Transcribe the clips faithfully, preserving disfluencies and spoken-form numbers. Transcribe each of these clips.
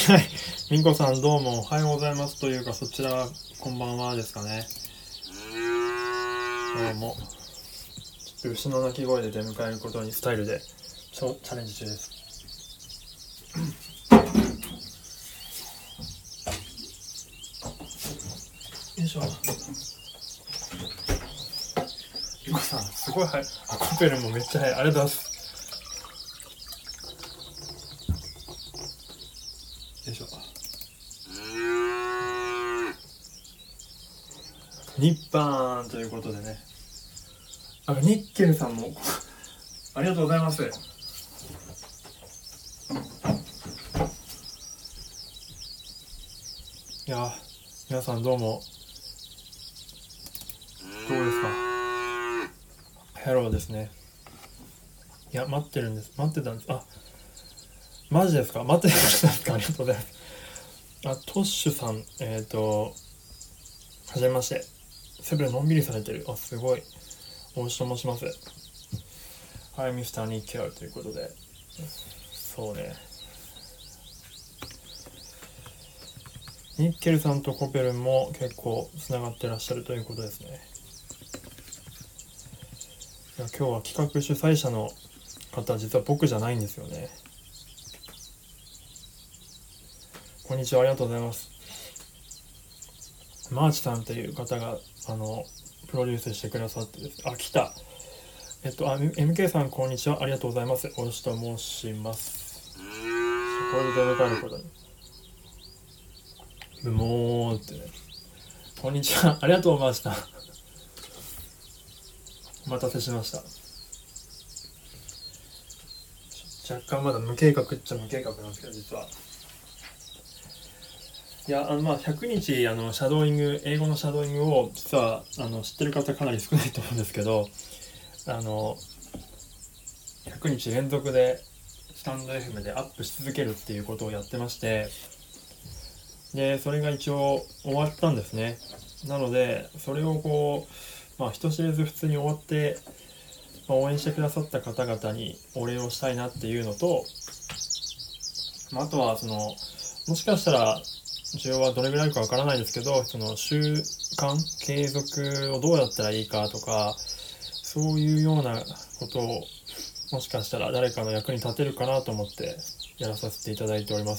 はい。みんこさんどうもおはようございますというか、そちらこんばんはですかね。どうも。ちょっと牛の鳴き声で出迎えることにスタイルでチャレンジ中です。よいしょ。みんこさんすごい早い。あ、コペルもめっちゃ早い。ありがとうございます。よいしょ。ニッパーンということでね。あ、ニッケルさんもありがとうございます。いや、皆さんどうもどうですか。ヘローですね。いや、待ってるんです。待ってたんです。あ、マジですか。待ってたんですか。ありがとうございます。あ、トッシュさん、えっと、はじめまして。セブンのんびりされてる。あ、すごい。大石と申します。はい、ミスターニッケルということで。そうね。ニッケルさんとコペルンも結構つながってらっしゃるということですね。いや、今日は企画主催者の方、実は僕じゃないんですよね。こんにちは、ありがとうございます。マーチさんという方があのプロデュースしてくださってですね。あ、来た。えっと、あ、エムケー さんこんにちは、ありがとうございます。大石と申します。これで出迎えることに。ブモーってね。こんにちは、ありがとうございました。お待たせしました。若干まだ無計画っちゃ無計画なんですけど、実は。いや、あのまあひゃくにちあのシャドーイング、英語のシャドーイングを実はあの知ってる方かなり少ないと思うんですけど、あのひゃくにち連続でスタンド エフエム でアップし続けるっていうことをやってまして、でそれが一応終わったんですね。なのでそれをこう、まあ、人知れず普通に終わって、まあ、応援してくださった方々にお礼をしたいなっていうのと、まあ、あとはそのもしかしたら需要はどれぐらいあるかわからないですけど、その習慣継続をどうやったらいいかとか、そういうようなことをもしかしたら誰かの役に立てるかなと思ってやらさせていただいております。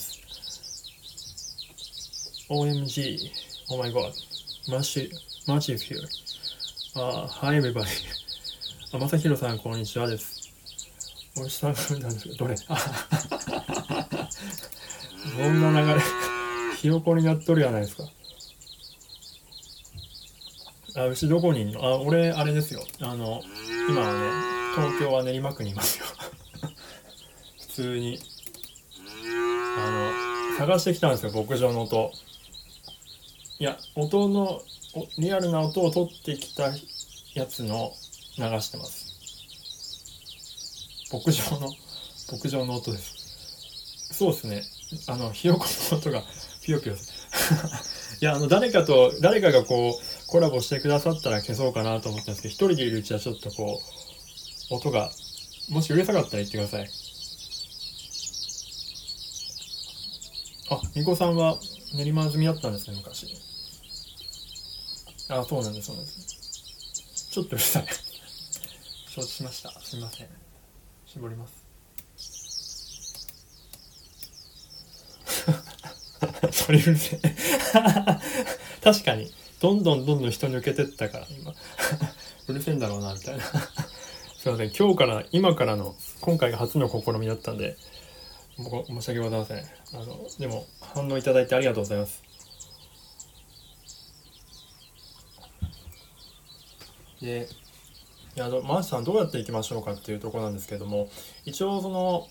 オーエムジー Oh my god, much much of you. Uh, hi everybody. あ、まさひろさんこんにちはです。おいしさんなんですけど、どれどんな流れひよこになっとるやないですか。あ、牛どこにいんの。あ、俺あれですよ、あの今はね東京は練馬区にいますよ普通にあの探してきたんですよ、牧場の音。いや、音のリアルな音を取ってきたやつの流してます。牧場の牧場の音です。そうですね、あのひよこの音がピヨピヨいや、あの誰かと誰かがこうコラボしてくださったら消そうかなと思ったんですけど、一人でいるうちはちょっとこう音がもしうるさかったら言ってください。あ、みこさんは練馬済みだったんですね、昔。あ、そうなんです、そうなんです。ちょっとうるさい承知しました。すみません。絞ります。それうるせえ確かにどんどんどんどん人抜けてったから今うるせえんだろうなみたいなすいません、今日から今からの今回が初の試みだったんで僕申し訳ございません。あのでも反応いただいてありがとうございます。で、いや、あのマーシさんどうやっていきましょうかっていうところなんですけれども、一応その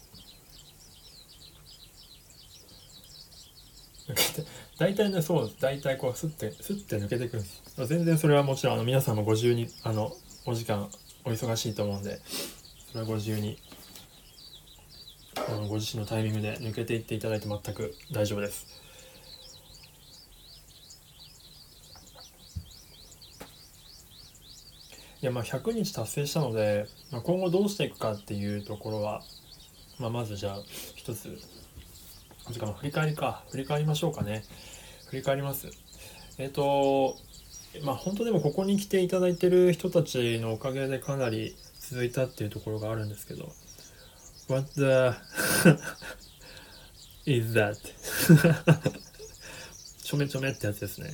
抜けて大体ね、そう大体こうスッてスッて抜けていくんです。全然それはもちろんあの皆さんもご自由にあのお時間お忙しいと思うんで、それはご自由にあのご自身のタイミングで抜けていっていただいて全く大丈夫です。いや、まあひゃくにち達成したので、まあ、今後どうしていくかっていうところは、まあ、まずじゃあ一つ時間振り返りか振り返りましょうかね。振り返ります。えっ、ー、とまあ本当でもここに来ていただいてる人たちのおかげでかなり続いたっていうところがあるんですけど、 What the is that? ちょめちょめってやつですね。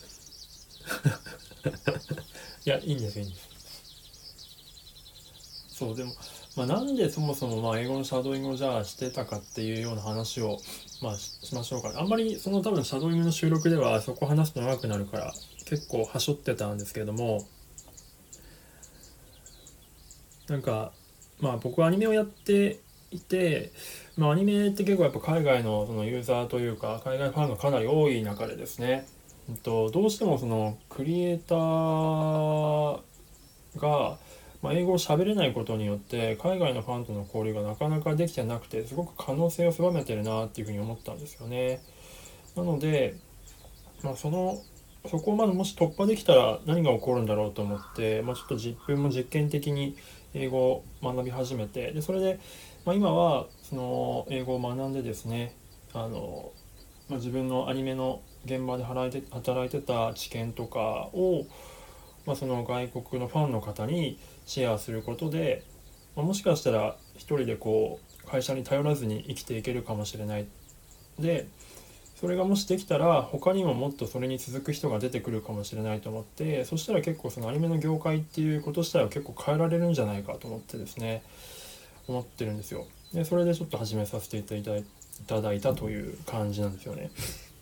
いや、いいんですいいんです。そうでも、まあ、なんでそもそもまあ英語のシャドーイングをじゃあしてたかっていうような話をまあ し, しましょうかね。あんまりその多分シャドーイングの収録ではそこ話すと長くなるから結構はしょってたんですけれども、なんかまあ僕はアニメをやっていて、まあ、アニメって結構やっぱ海外のそのユーザーというか海外ファンがかなり多い中でですね、えっと、どうしてもそのクリエイターが、まあ、英語を喋れないことによって海外のファンとの交流がなかなかできてなくて、すごく可能性を狭めてるなっていうふうに思ったんですよね。なので、まあ、そのそこをまずもし突破できたら何が起こるんだろうと思って、まあ、ちょっと自分も実験的に英語を学び始めて、でそれで、まあ、今はその英語を学んでですね、あの、まあ、自分のアニメの現場で働いて働いてた知見とかを、まあ、その外国のファンの方にシェアすることで、まあ、もしかしたら一人でこう会社に頼らずに生きていけるかもしれない。でそれがもしできたら他にももっとそれに続く人が出てくるかもしれないと思って、そしたら結構そのアニメの業界っていうこと自体は結構変えられるんじゃないかと思ってですね、思ってるんですよ。でそれでちょっと始めさせていただいただいたという感じなんですよね。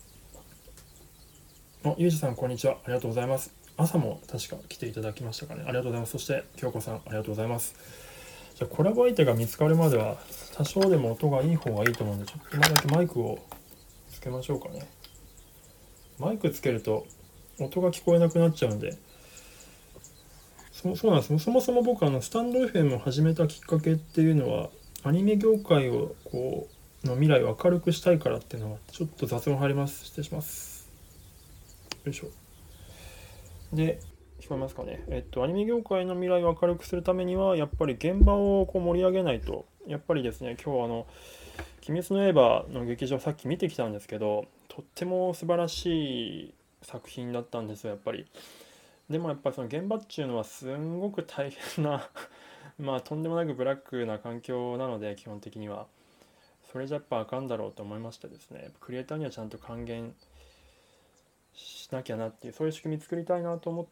あ、ゆうじさんこんにちは、ありがとうございます。朝も確か来ていただきましたかね。ありがとうございます。そして京子さんありがとうございます。じゃあコラボ相手が見つかるまでは多少でも音がいい方がいいと思うんで、ちょっと今だけマイクをつけましょうかね。マイクつけると音が聞こえなくなっちゃうんで。そそうなんです。そもそも僕あのスタンド エフエム を始めたきっかけっていうのは、アニメ業界をこうの未来を明るくしたいからっていうのは、ちょっと雑音入ります。失礼します。よいしょ。で、聞こえますかね。えっと、アニメ業界の未来を明るくするためには、やっぱり現場をこう盛り上げないと。やっぱりですね、今日あの、鬼滅の刃の劇場さっき見てきたんですけど、とっても素晴らしい作品だったんですよ、やっぱり。でもやっぱりその現場っていうのはすんごく大変なまあとんでもなくブラックな環境なので、基本的には。それじゃやっぱあかんだろうと思いましてですね、クリエイターにはちゃんと還元しなきゃなっていう、そういう仕組み作りたいなと思って、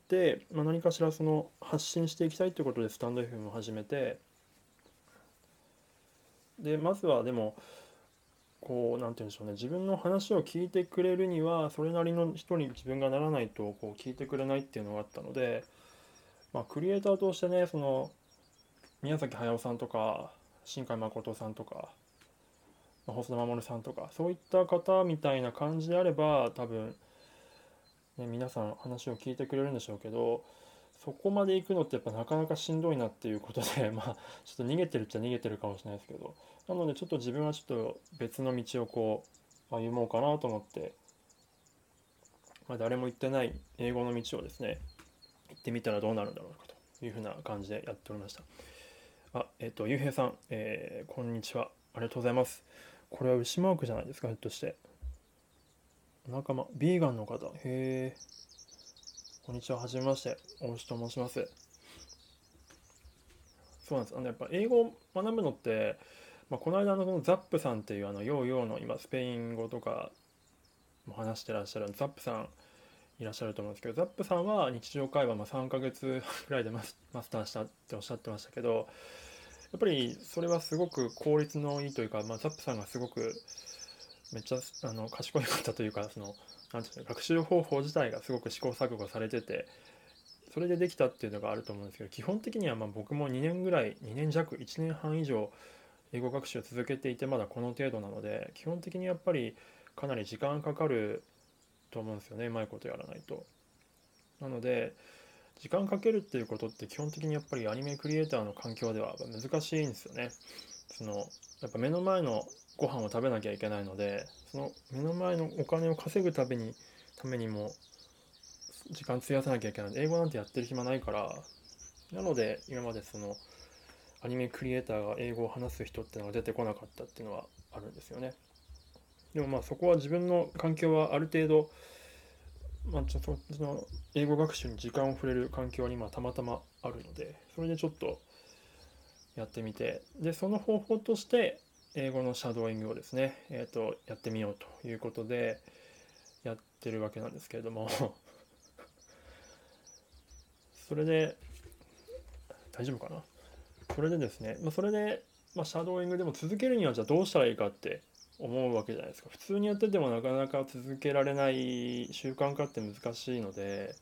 まあ、何かしらその発信していきたいということでスタンド エフエム を始めて、でまずはでもこうなんて言うんでしょうね、自分の話を聞いてくれるにはそれなりの人に自分がならないとこう聞いてくれないっていうのがあったので、まあ、クリエイターとしてね、その宮崎駿さんとか新海誠さんとか、まあ、細田守さんとかそういった方みたいな感じであれば多分ね、皆さん話を聞いてくれるんでしょうけど、そこまで行くのってやっぱなかなかしんどいなっていうことでまあちょっと逃げてるっちゃ逃げてるかもしれないですけど、なのでちょっと自分はちょっと別の道をこう歩もうかなと思って、まあ、誰も行ってない英語の道をですね行ってみたらどうなるんだろうかというふうな感じでやっておりました。あ、えっとゆうへいさん、えーこんにちは、ありがとうございます。これは牛マークじゃないですか、ひょっとして。お仲間ビーガンの方、へえ、こんにちは、はじめまして、大牛と申します。そうなんです。あのやっぱ英語を学ぶのって、まあ、この間のそのザップさんっていうあのヨーヨーの今スペイン語とかも話してらっしゃるザップさんいらっしゃると思うんですけど、ザップさんは日常会話まあさんかげつぐらいでマス、マスターしたっておっしゃってましたけど、やっぱりそれはすごく効率のいいというか、まあ、ザップさんがすごくめっちゃあの賢い方というか、そのなんていうの、学習方法自体がすごく試行錯誤されてて、それでできたっていうのがあると思うんですけど、基本的にはまあ僕もにねんぐらいにねん弱いちねんはん以上英語学習を続けていてまだこの程度なので、基本的にやっぱりかなり時間かかると思うんですよね、うまいことやらないと。なので時間かけるっていうことって基本的にやっぱりアニメクリエイターの環境では難しいんですよね。そのやっぱ目の前のご飯を食べなきゃいけないので、その目の前のお金を稼ぐためにためにも時間費やさなきゃいけないので、英語なんてやってる暇ないから、なので今までそのアニメクリエイターが英語を話す人っていうのが出てこなかったっていうのはあるんですよね。 でもまあそこは自分の環境はある程度、まあ、ちょっとその英語学習に時間を触れる環境にまあたまたまあるので、それでちょっとやってみて、でその方法として英語のシャドーイングをですね、えー、とやってみようということでやってるわけなんですけれどもそれで大丈夫かな。それでですね、まあ、それで、まあ、シャドーイングでも続けるにはじゃあどうしたらいいかって思うわけじゃないですか。普通にやっててもなかなか続けられない習慣化って難しいので、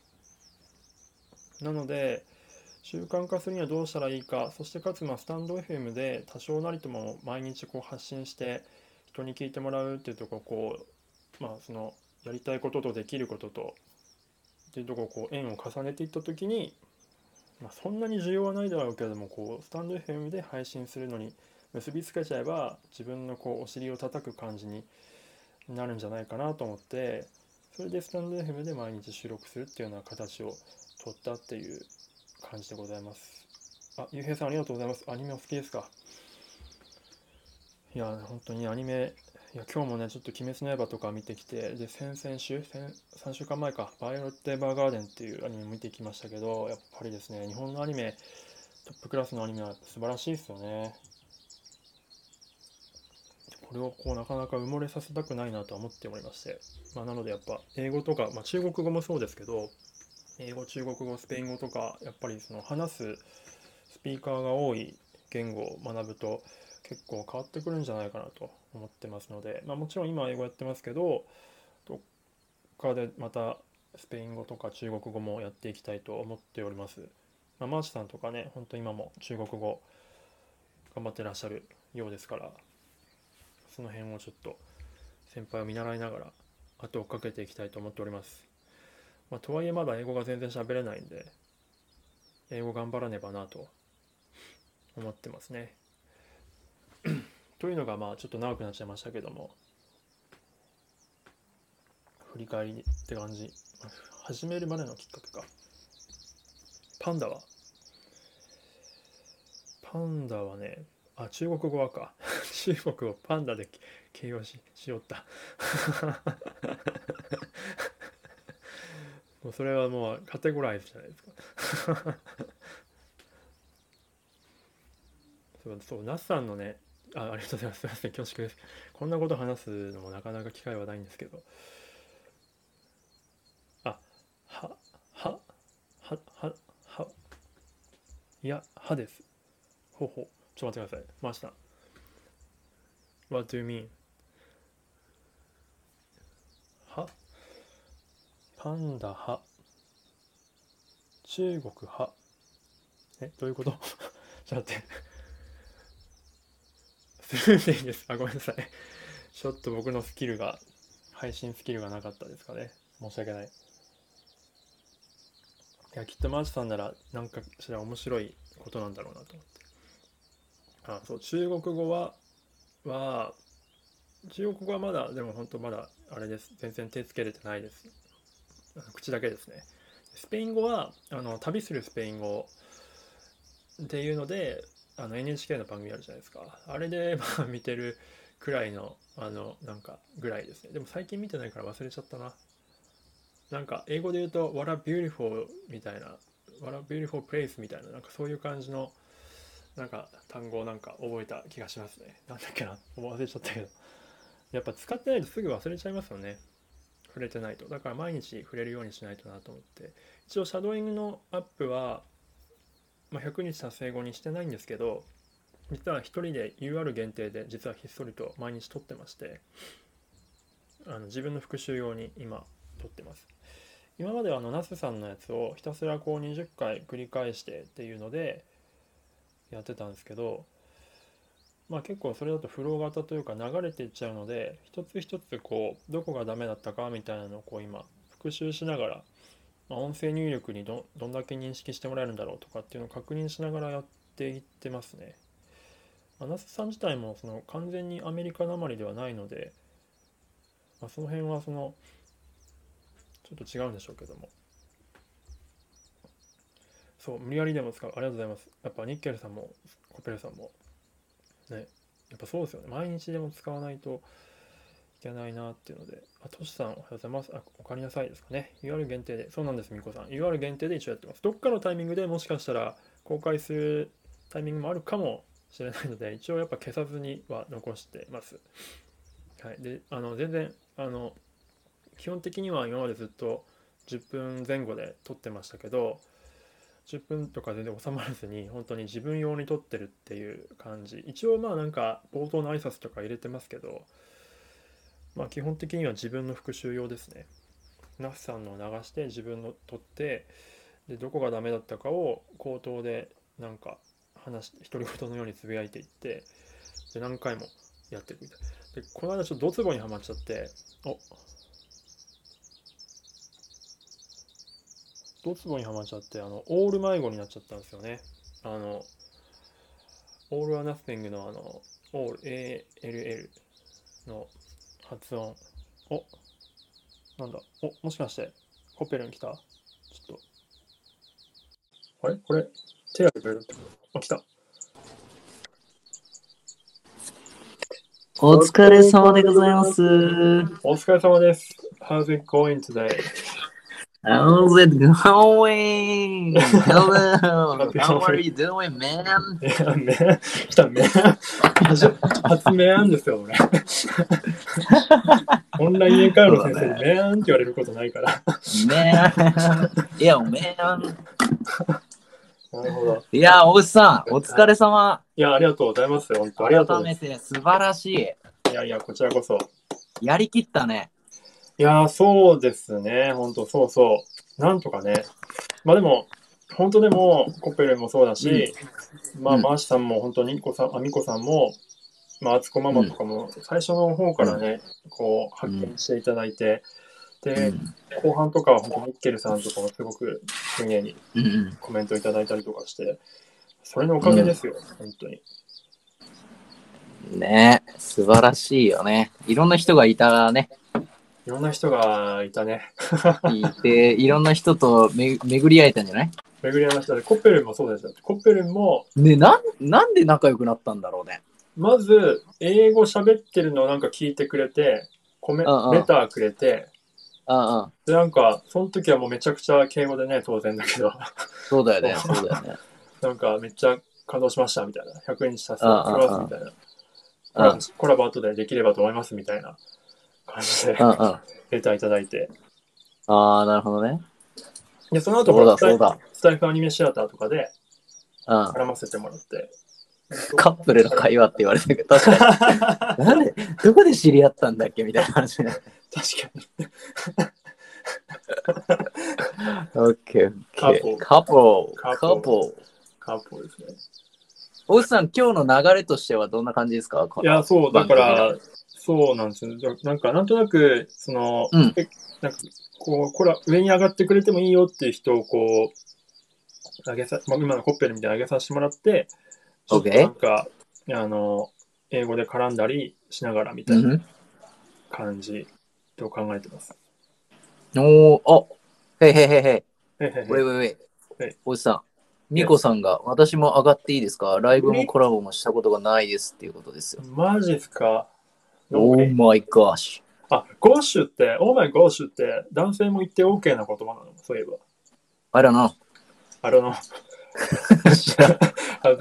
なので習慣化するにはどうしたらいいか、そしてかつまあスタンド エフエム で多少なりとも毎日こう発信して人に聞いてもらうっていうところこう、まあ、そのやりたいこととできることとっていうところこう円を重ねていった時に、まあ、そんなに需要はないだろうけれどもこうスタンド エフエム で配信するのに結びつけちゃえば自分のこうお尻を叩く感じになるんじゃないかなと思って、それでスタンド エフエム で毎日収録するっていうような形を取ったっていう感じでございます。あ、ゆうへいさんありがとうございます。アニメお好きですか？いや、本当にアニメ、いや、今日もね、ちょっと鬼滅の刃とか見てきて、で、先々週、先さんしゅうかんまえか、バイオレット・エヴァーガーデンっていうアニメ見てきましたけど、やっぱりですね、日本のアニメ、トップクラスのアニメは素晴らしいですよね。これをこうなかなか埋もれさせたくないなとは思っておりまして、まあ、なのでやっぱ英語とか、まあ、中国語もそうですけど、英語、中国語、スペイン語とか、やっぱりその話すスピーカーが多い言語を学ぶと結構変わってくるんじゃないかなと思ってますので、まあ、もちろん今英語やってますけど、どっかでまたスペイン語とか中国語もやっていきたいと思っております。まあ、マーチさんとかね、本当今も中国語頑張ってらっしゃるようですから、その辺をちょっと先輩を見習いながら後を追っかけていきたいと思っております。まあ、とはいえまだ英語が全然喋れないんで、英語頑張らねばなと思ってますね。というのがまあちょっと長くなっちゃいましたけども、振り返りって感じ。始めるまでのきっかけか。パンダはパンダはね、あ、中国語はか。中国をパンダで形容ししよった。もうそれはもうカテゴライズじゃないですか。そう、そう、ナスさんのね、あ、ありがとうございます。すみません、恐縮です。こんなこと話すのもなかなか機会はないんですけど、あ、は、は、は、は、は、いや、はです。ほうほう。ちょっと待ってください。回した。What do you mean? はパンダは中国はえ、どういうこと？ちょっと待って。スルーでいいです。あ、ごめんなさい。ちょっと僕のスキルが、配信スキルがなかったですかね。申し訳ない。いや、きっとマーチさんなら、なんかしら面白いことなんだろうなと思って。あ、そう、中国語は、は、中国語はまだ、でも本当まだ、あれです。全然手つけれてないです。口だけですね。スペイン語は、あの、旅するスペイン語っていうので、あの エヌエイチケー の番組あるじゃないですか。あれで、まあ見てるくらいの、あの、なんか、ぐらいですね。でも最近見てないから忘れちゃったな。なんか、英語で言うと、What a beautiful みたいな、What a beautiful place みたいな、なんかそういう感じの、なんか単語をなんか覚えた気がしますね。なんだっけな、忘れちゃったけど。やっぱ使ってないとすぐ忘れちゃいますよね。触れてないと。だから毎日触れるようにしないとなと思って。一応、シャドーイングのアップは、まあ、ひゃくにち達成後にしてないんですけど、実は一人で ユーアール 限定で実はひっそりと毎日撮ってまして、あの自分の復習用に今撮ってます。今まではあのナスさんのやつをひたすらこうにじゅっかい繰り返してっていうのでやってたんですけど、まあ結構それだとフロー型というか流れていっちゃうので、一つ一つこうどこがダメだったかみたいなのをこう今復習しながら、まあ、音声入力に ど, どんだけ認識してもらえるんだろうとかっていうのを確認しながらやっていってますね。ナスさん自体もその完全にアメリカなまりではないので、まあ、その辺はそのちょっと違うんでしょうけども、そう無理やりでも使う。ありがとうございます。やっぱニッケルさんもコペルさんもね、やっぱそうですよね。毎日でも使わないとけないなっていうので、あ、トシさんおはようございます。あ、おかえりなさいですかね。ユーアール 限定で、そうなんです、みこさん。ユーアール 限定で一応やってます。どっかのタイミングでもしかしたら公開するタイミングもあるかもしれないので、一応やっぱ消さずには残してます。はい。で、あの、全然、あの、基本的には今までずっとじゅっぷんぜん後で撮ってましたけど、じゅっぷんとか全然収まらずに本当に自分用に撮ってるっていう感じ。一応まあなんか冒頭の挨拶とか入れてますけど、まあ基本的には自分の復習用ですね。ナフさんのを流して自分の撮って、でどこがダメだったかを口頭でなんか話し独り言のようにつぶやいていって、で何回もやっていくみたいで、この間ちょっとドツボにはまっちゃって、おドツボにはまっちゃって、あのオール迷子になっちゃったんですよね。あのオールはナッシングのあのオール エーエルエル の発音。お、なんだ、お、もしかしてコペルン来た？ちょっとあれこれ手挙げてくれるってこと？あ、来た。 お疲れ様でございます。 お疲れ様です。How's it going today? How's it going? Hello. Happy How are Halloween. you doing, man? いや、め来た、め初初めんですよ、俺。オンライン英会話の先生にめんって言われることないから。 Man. いや、man. なるほど。 いや、大内さん、お疲れ様。 いや、ありがとうございます。本当ありがとう改ございます。 めて素晴らしい。 いやいや、こちらこそ。 やりきったね。 いやー、そうですね。本当そうそう。なんとかね。まあでも、本当でも、コペルもそうだし、まあ、 うんマーシさんも本当に、ミコさん、あみこさんも、まあ、あつこママとかも、最初の方からね、こう、発見していただいて、で、後半とかは本当ミッケルさんとかもすごく丁寧にうんうんコメントいただいたりとかして、それのおかげですよ、本当に。 ね、素晴らしいよね。いろんな人がいたね。 いろんな人がいたね。 いて、いろんな人とめ巡り会えたんじゃない？ 巡り合いましたね。コッペルンもそうですよ。コッペルンも、 ね、なん、なんで仲良くなったんだろうね。 まず、英語喋ってるのをなんか聞いてくれて、コメうんうんレターくれて、 うんうん。 で、なんか、その時はもうめちゃくちゃ敬語でね、当然だけど、 そうだよね、そうだよね。 なんかめっちゃ感動しましたみたいな、ひゃくえんにさせてうんもらいますみたいな、コラボうんコラボ後でできればと思いますみたいな感じで、 うんうん。 レターいただいて、 ああ、なるほどね。 で、その後、 そうだ、 スタイそうだ。 スタイフアニメシアターとかでうん。 絡ませてもらって、 カップルの会話って言われたけど、確かに。なんで、どこで知り合ったんだっけみたいな話ね。 確かに。 オッケー、オッケー。 カカポカポカポカップですね。 大内さん、今日の流れとしてはどんな感じですか？こいや、 のそう、だ番組の。 から、そうなんですよ。なんか、なんとなく、その、 うんえなんか、こう、これは上に上がってくれてもいいよっていう人を、こう、上げさ、まあ、今のコッペルみたいに上げさせてもらって、ちょっとなんか、あの、英語で絡んだりしながらみたいなうん。 感じと考えてます。 おー、あ、へいへいへいへい。 へへウェイへ。 ウェイウェイ。 はい大内さん、ミコさんが、私も上がっていいですか？ライブもコラボもしたことがないですっていうことですよ。 マジっすか？ No オー way。 マイガーシあ、ゴッシュって、オーマイゴッシュって男性も言って OK な言葉なの？そういえば。 ュ。あらな。 あれの。 知らん。 なん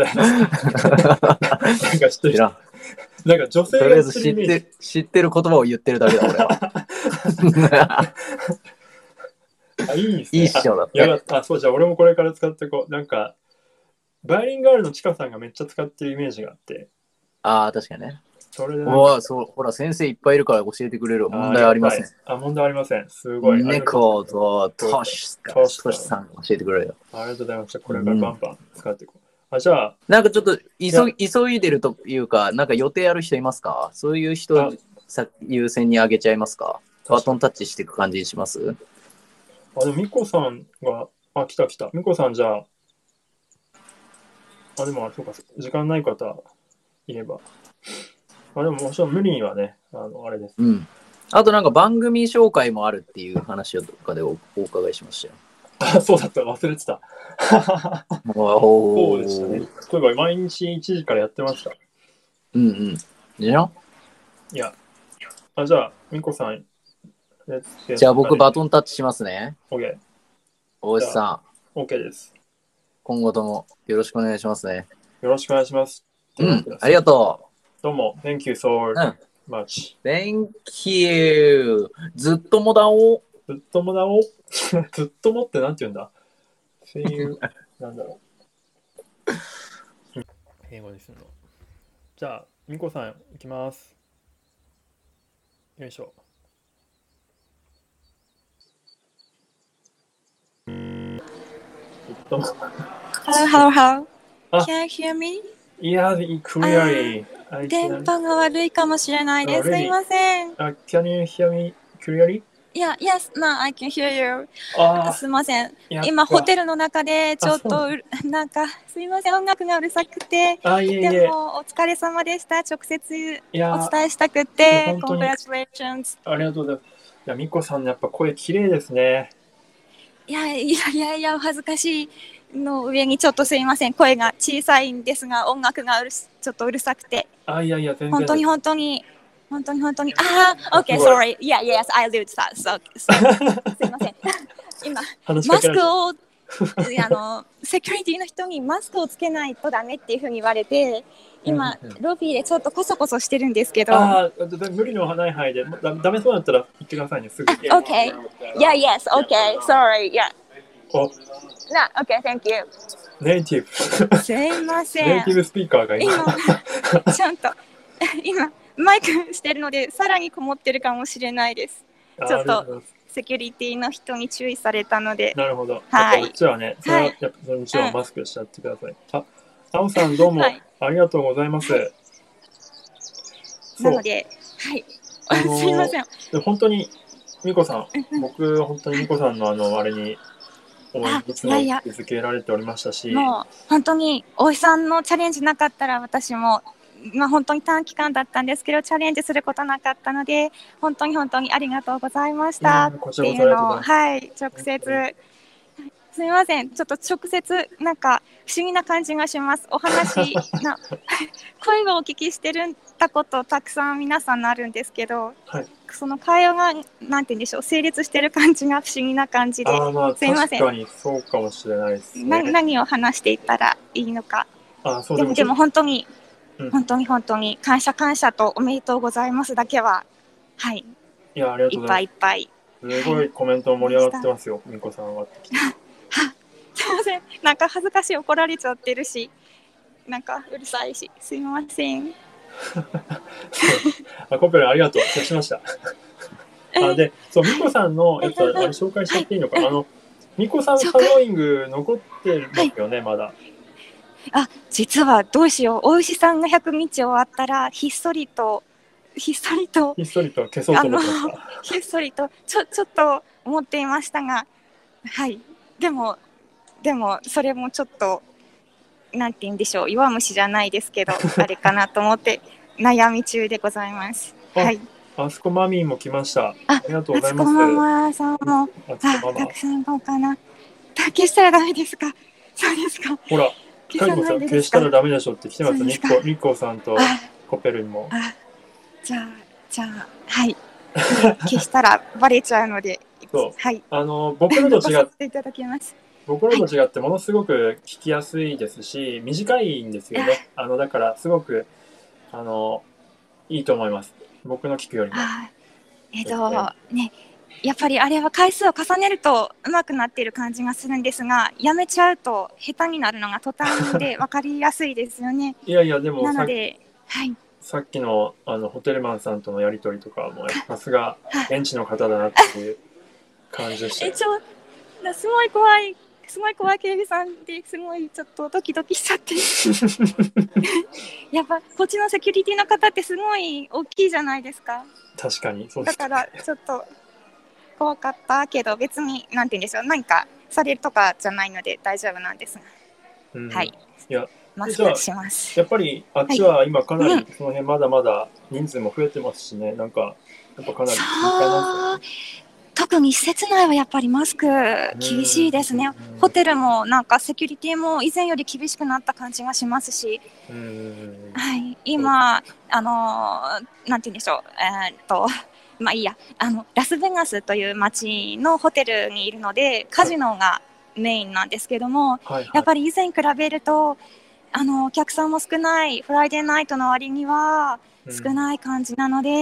か知ってる。 知らん。 なんか女性がとりあえず知って知ってる言葉を言ってるだけだ、俺は。 あ、いいですね。 いいっしょだっいやて。 あ、そうじゃあ俺もこれから使ってこう。なんか、バイリンガールのチカさんがめっちゃ使ってるイメージがあって。 ああ、確かにね。 それでなんかおそう、ほら、先生いっぱいいるから教えてくれる。問題ありません。 あ、問題ありません。すごい。 猫とトシトシさんが教えてくれるよ。 ありがとうございました。これからバンバン使っていこう。あ、じゃあ。 なんかちょっと急急いでるというか、なんか予定ある人いますか？そういう人さ優先に上げちゃいますか？バトンタッチしていく感じにします？ あ、でもミコさんが、あ、来た来た。ミコさんじゃあ、あ、でも、あ、そうか、時間ない方いれば。あ、でももちろん無理にはね、あの、あれです。 うん。あとなんか番組紹介もあるっていう話をどっかで お, お伺いしましたよ。 あ、そうだった。忘れてた。そうでしたね。例えば毎日いちじからやってました。 うんうん。じゃん？ いや、 あ、じゃあ、みこさん、 じゃあ僕バトン。 ンタッチしますね。 OK。 大石さん、 OK です。 今後ともよろしくお願いしますね。 よろしくお願いします。といううん、 わけで、 ありがとどうも、Thank you so う。うん、 much. Thank you. ずっともだお。 ずっともだおずっともってなんて言うんだ ?See you. なんだろう。英語でするの。じゃあ、みこさん、いきます。よいしょ。ずっとも。 Hello, hello, hello. あ、 Can you hear me? いや、clearly. あ、 電波が悪いかもしれないです。すいません。 あ、Can you hear me clearly? Yeah, yes, no, I can hear you. あすいません。 ー、 今、ホテルの中でちょっあそうなとうる、なんか、すいません、音楽がうるさくて。 あ、いえいえ。 でも、お疲れ様でした。直接いやお伝えしたくいやて、 本当に Congratulations。 ありがとうございます。いや、みこさんのやっぱ声綺麗ですね。 いやいやいやいや、お恥ずかしいの上にちょっとすいません。声が小さいんですが、音楽がうるすちょっとうるさくて。 あ、いやいや、全然。 本当に本当に本当に本当にああ、OK, すごい sorry. Yeah, yes, I do that. So, so すいません。今、マ話しかけられたスクを、あの、セキュリティの人にマスクをつけないとダメっていうふうに言われて、今、ロビーでちょっとコソコソしてるんですけど。 ああ、無理のない範囲で、だダメそうだったら言ってくださいね、すぐ。 OK. Yeah, yes, OK. Sorry. Yeah. お、 な、OK, thank you. ネイティブ。 すいません。 ネイティブスピーカーが今。 今、ちゃんと、今、マイクしてるので、さらにこもってるかもしれないです。ちょっと、セキュリティの人に注意されたので。 なるほど。 はい。 こっちはね、それは、やっぱもちろんマスクしちゃってください。あ、あおさんどうもありがとうございます。はい、 なので、はい。あのー、すいません。 本当に、みこさん、僕、本当にみこさんのあの、あれに、応援いつも続けられておりましたし。 もう、本当に、大井さんのチャレンジなかったら、私も、まあ、本当に短期間だったんですけど、チャレンジすることなかったので、本当に本当にありがとうございましたっていうのを、はい、直接、すみません、ちょっと直接、なんか不思議な感じがします。お話な声をお聞きしてるたことたくさん皆さんのあるんですけど、 はい、 その会話がなんて言うんでしょう、成立してる感じが不思議な感じで、 あ、まあ、 すみません。 確かにそうかもしれないですね。 な何を話していったらいいのか。 あ、そうでもでも本当に、 うん、 本当に本当に感謝感謝とおめでとうございますだけは、はい。 いや、ありがとうございます。 いっぱいいっぱい。 すごいコメント盛り上がってますよ、みこさんは。 すみません、なんか恥ずかしい、怒られちゃってるし、なんかうるさいし、すみません。 あ、コペルありがとう、消しました。あ、で、そう、みこさんのやつはあれ紹介しちゃっていいのか、はい、あの、みこさんサローイング残ってますよね、はい、まだ。 あ、実はどうしよう、大石さんがひゃくにち終わったら、ひっそりと、ひっそりと、 ひっそりと消そうと思ってました。 ひっそりと、ちょ、ちょっと思っていましたが、はい、でも、でも、それもちょっと、なんて言うんでしょう、弱虫じゃないですけど、あれかなと思って、悩み中でございます。はい。 あそこマミーも来ました。ありがとうございます。 あそこママさんも、あ、たくさん行こうかな。消したらダメですか。そうですか。 ほら、消さないで消したらダメでしょって来てます。ニッコ、ニッコさんとコペルにも。 あ、じゃあ、じゃあ、はい。消したらバレちゃうので、 そう。 はい。 あの、僕らと違って、 いただきます。 僕らと違ってものすごく聞きやすいですし、短いんですよね。あの、だからすごく、あの、いいと思います。僕の聞くよりも。 えっと、ね、やっぱりあれは回数を重ねると上手くなっている感じがするんですが、やめちゃうと下手になるのが途端で分かりやすいですよね。 いやいや、でもなので、はい。 さっきのあのホテルマンさんとのやりとりとかも、さすが現地の方だなっていう感じでした。 え、ちょ、すごい怖い。すごい怖い警備さんですごいちょっとドキドキしちゃってやっぱこっちのセキュリティの方ってすごい大きいじゃないですか。 確かにそうです、 だからちょっと怖かったけど、別になんて言うんでしょう、何かされるとかじゃないので大丈夫なんですが、うん、はい、 いやマスクします。 やっぱりあっちは今かなりその辺まだまだ人数も増えてますしね、なんかやっぱかなりそう特に施設内はやっぱりマスク厳しいですね。ホテルもなんかセキュリティも以前より厳しくなった感じがしますし、はい、今あのなんて言うんでしょう、えー、っとまあいいや、あのラスベガスという街のホテルにいるのでカジノがメインなんですけども、 はいはい、 やっぱり以前に比べるとあのお客さんも少ない、フライデーナイトの割には少ない感じなので、うん、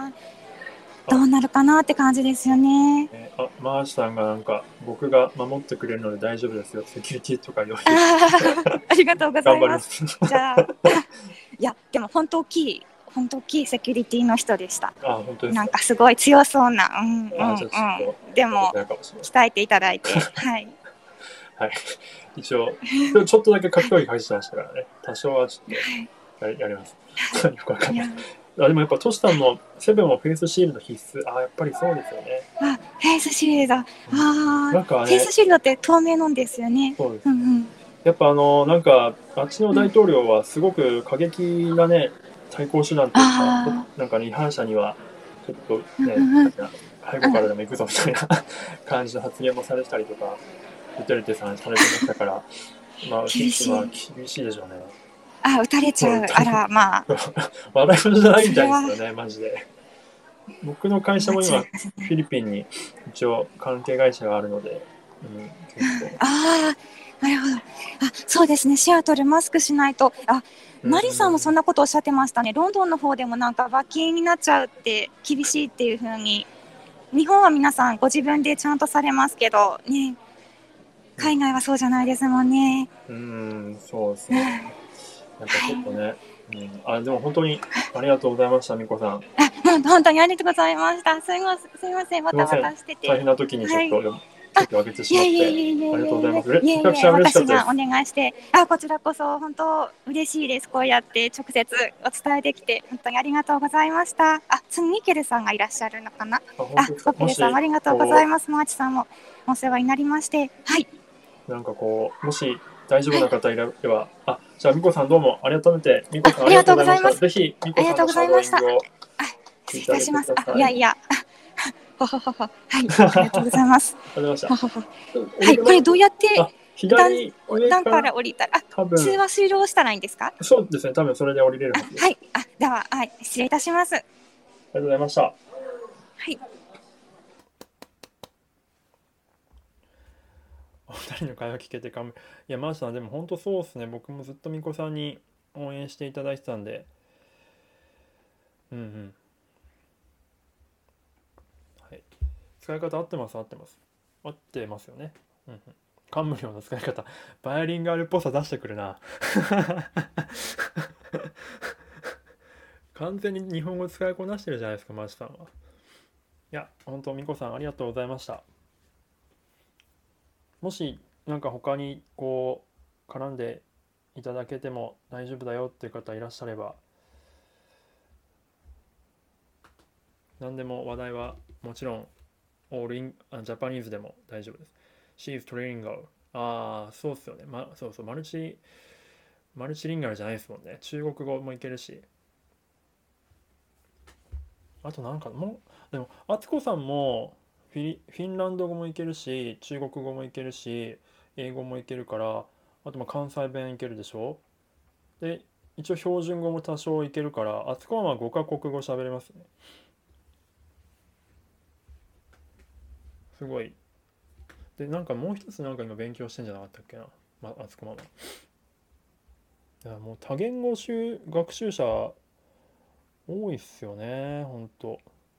んどうなるかなって感じですよね。 えー、あ、マーシさんがなんか僕が守ってくれるので大丈夫ですよ、セキュリティとか言われてあありがとうございます。 頑張りますじゃあいやでも本当大きい本当大きいセキュリティの人でした。 あ、本当ですか。 なんかすごい強そうな、うんうんうん、でも鍛えていただいて、はい、 はい、一応ちょっとだけ格闘技入ってましたからね、多少はちょっと や, やりますよくわかんない。あ、でもやっぱトシさんのセブンもフェイスシールド必須。あ、やっぱりそうですよね。 あ、フェイスシールド、ああ、 なんかね、 フェイスシールドって透明なんですよね。 そうです、 うんうん、 やっぱあのなんかあっちの大統領はすごく過激なね対抗手段というか、なんか、ね、違反者にはちょっとね、うんうん、背後からでも行くぞみたいな感じの発言もされたりとか、ドゥテルテさんされてましたから、まあ厳しい、 まあ、厳しいでしょうね。 あ、撃たれちゃう、あら、まあ笑い事じゃないみたいですよね、マジで。僕の会社も今フィリピンに一応関係会社があるので、うん、結構。 ああ、なるほど。あ、そうですね。シアトルマスクしないと。あ、マリさんもそんなことおっしゃってましたね。ロンドンの方でもなんか罰金になっちゃうって厳しいっていう風に。日本は皆さんご自分でちゃんとされますけどね。海外はそうじゃないですもんね。 うん、うん、そうですね。やっぱちょっとね。うん、あ、でも本当にありがとうございました、みこさん。あ、 本当にありがとうございました。すみません、すみません、また渡してて。 大変な時にちょっと、はい、席を空けてしまって、 いやいやいやいやありがとうございます。 いやいやいや、 私がお願いして、あ、こちらこそ本当嬉しいです。こうやって直接お伝えできて、本当にありがとうございました。あ、次ミケルさんがいらっしゃるのかな。あ、ミケルさんもありがとうございます。マーチさんもお世話になりまして、はい。 なんかこう、もし大丈夫な方いれば、はい、あ、じゃあみこさんどうもありがとうございます。みこさんありがとうございました。ぜひみこさんのシャドーイングを失礼いたします。あ、いやいや。ほほほほ。はい、ありがとうございます。 ありがとうございました。 はい、これどうやって左段から降りたら、あ、通話終了したらいいんですか？ そうですね、多分それで降りれるはずです。 はい、あ、では、はい、失礼いたします。ありがとうございました。はい。お二人の会話聞けてかむ。いや、マーシさん、でも本当そうですね。僕もずっとみこさんに応援していただいてたんで。うんうん。はい。使い方合ってます、合ってます。合ってますよね。うんうん。カンムリョの使い方。バイリンガルっぽさ出してくるな。完全に日本語使いこなしてるじゃないですか、マーシさんは。いや、本当みこさんありがとうございました。もしなんか他にこう絡んでいただけても大丈夫だよっていう方いらっしゃれば、何でも話題はもちろんオールインあジャパニーズでも大丈夫です。She is trilingual。ああ、そうっすよね。ま、そうそう、マルチマルチリンガルじゃないですもんね。中国語もいけるし。あとなんかもうでもあつこさんもフィリフィンランド語もいけるし、中国語もいけるし、英語もいけるから、あとまあ関西弁いけるでしょ。で一応標準語も多少いけるから、あつこはごカ国語喋れますね。すごい。でなんかもう一つなんか今勉強してんじゃなかったっけな、まあつこママ。いやもう多言語習学習者多いっすよね、ほんと。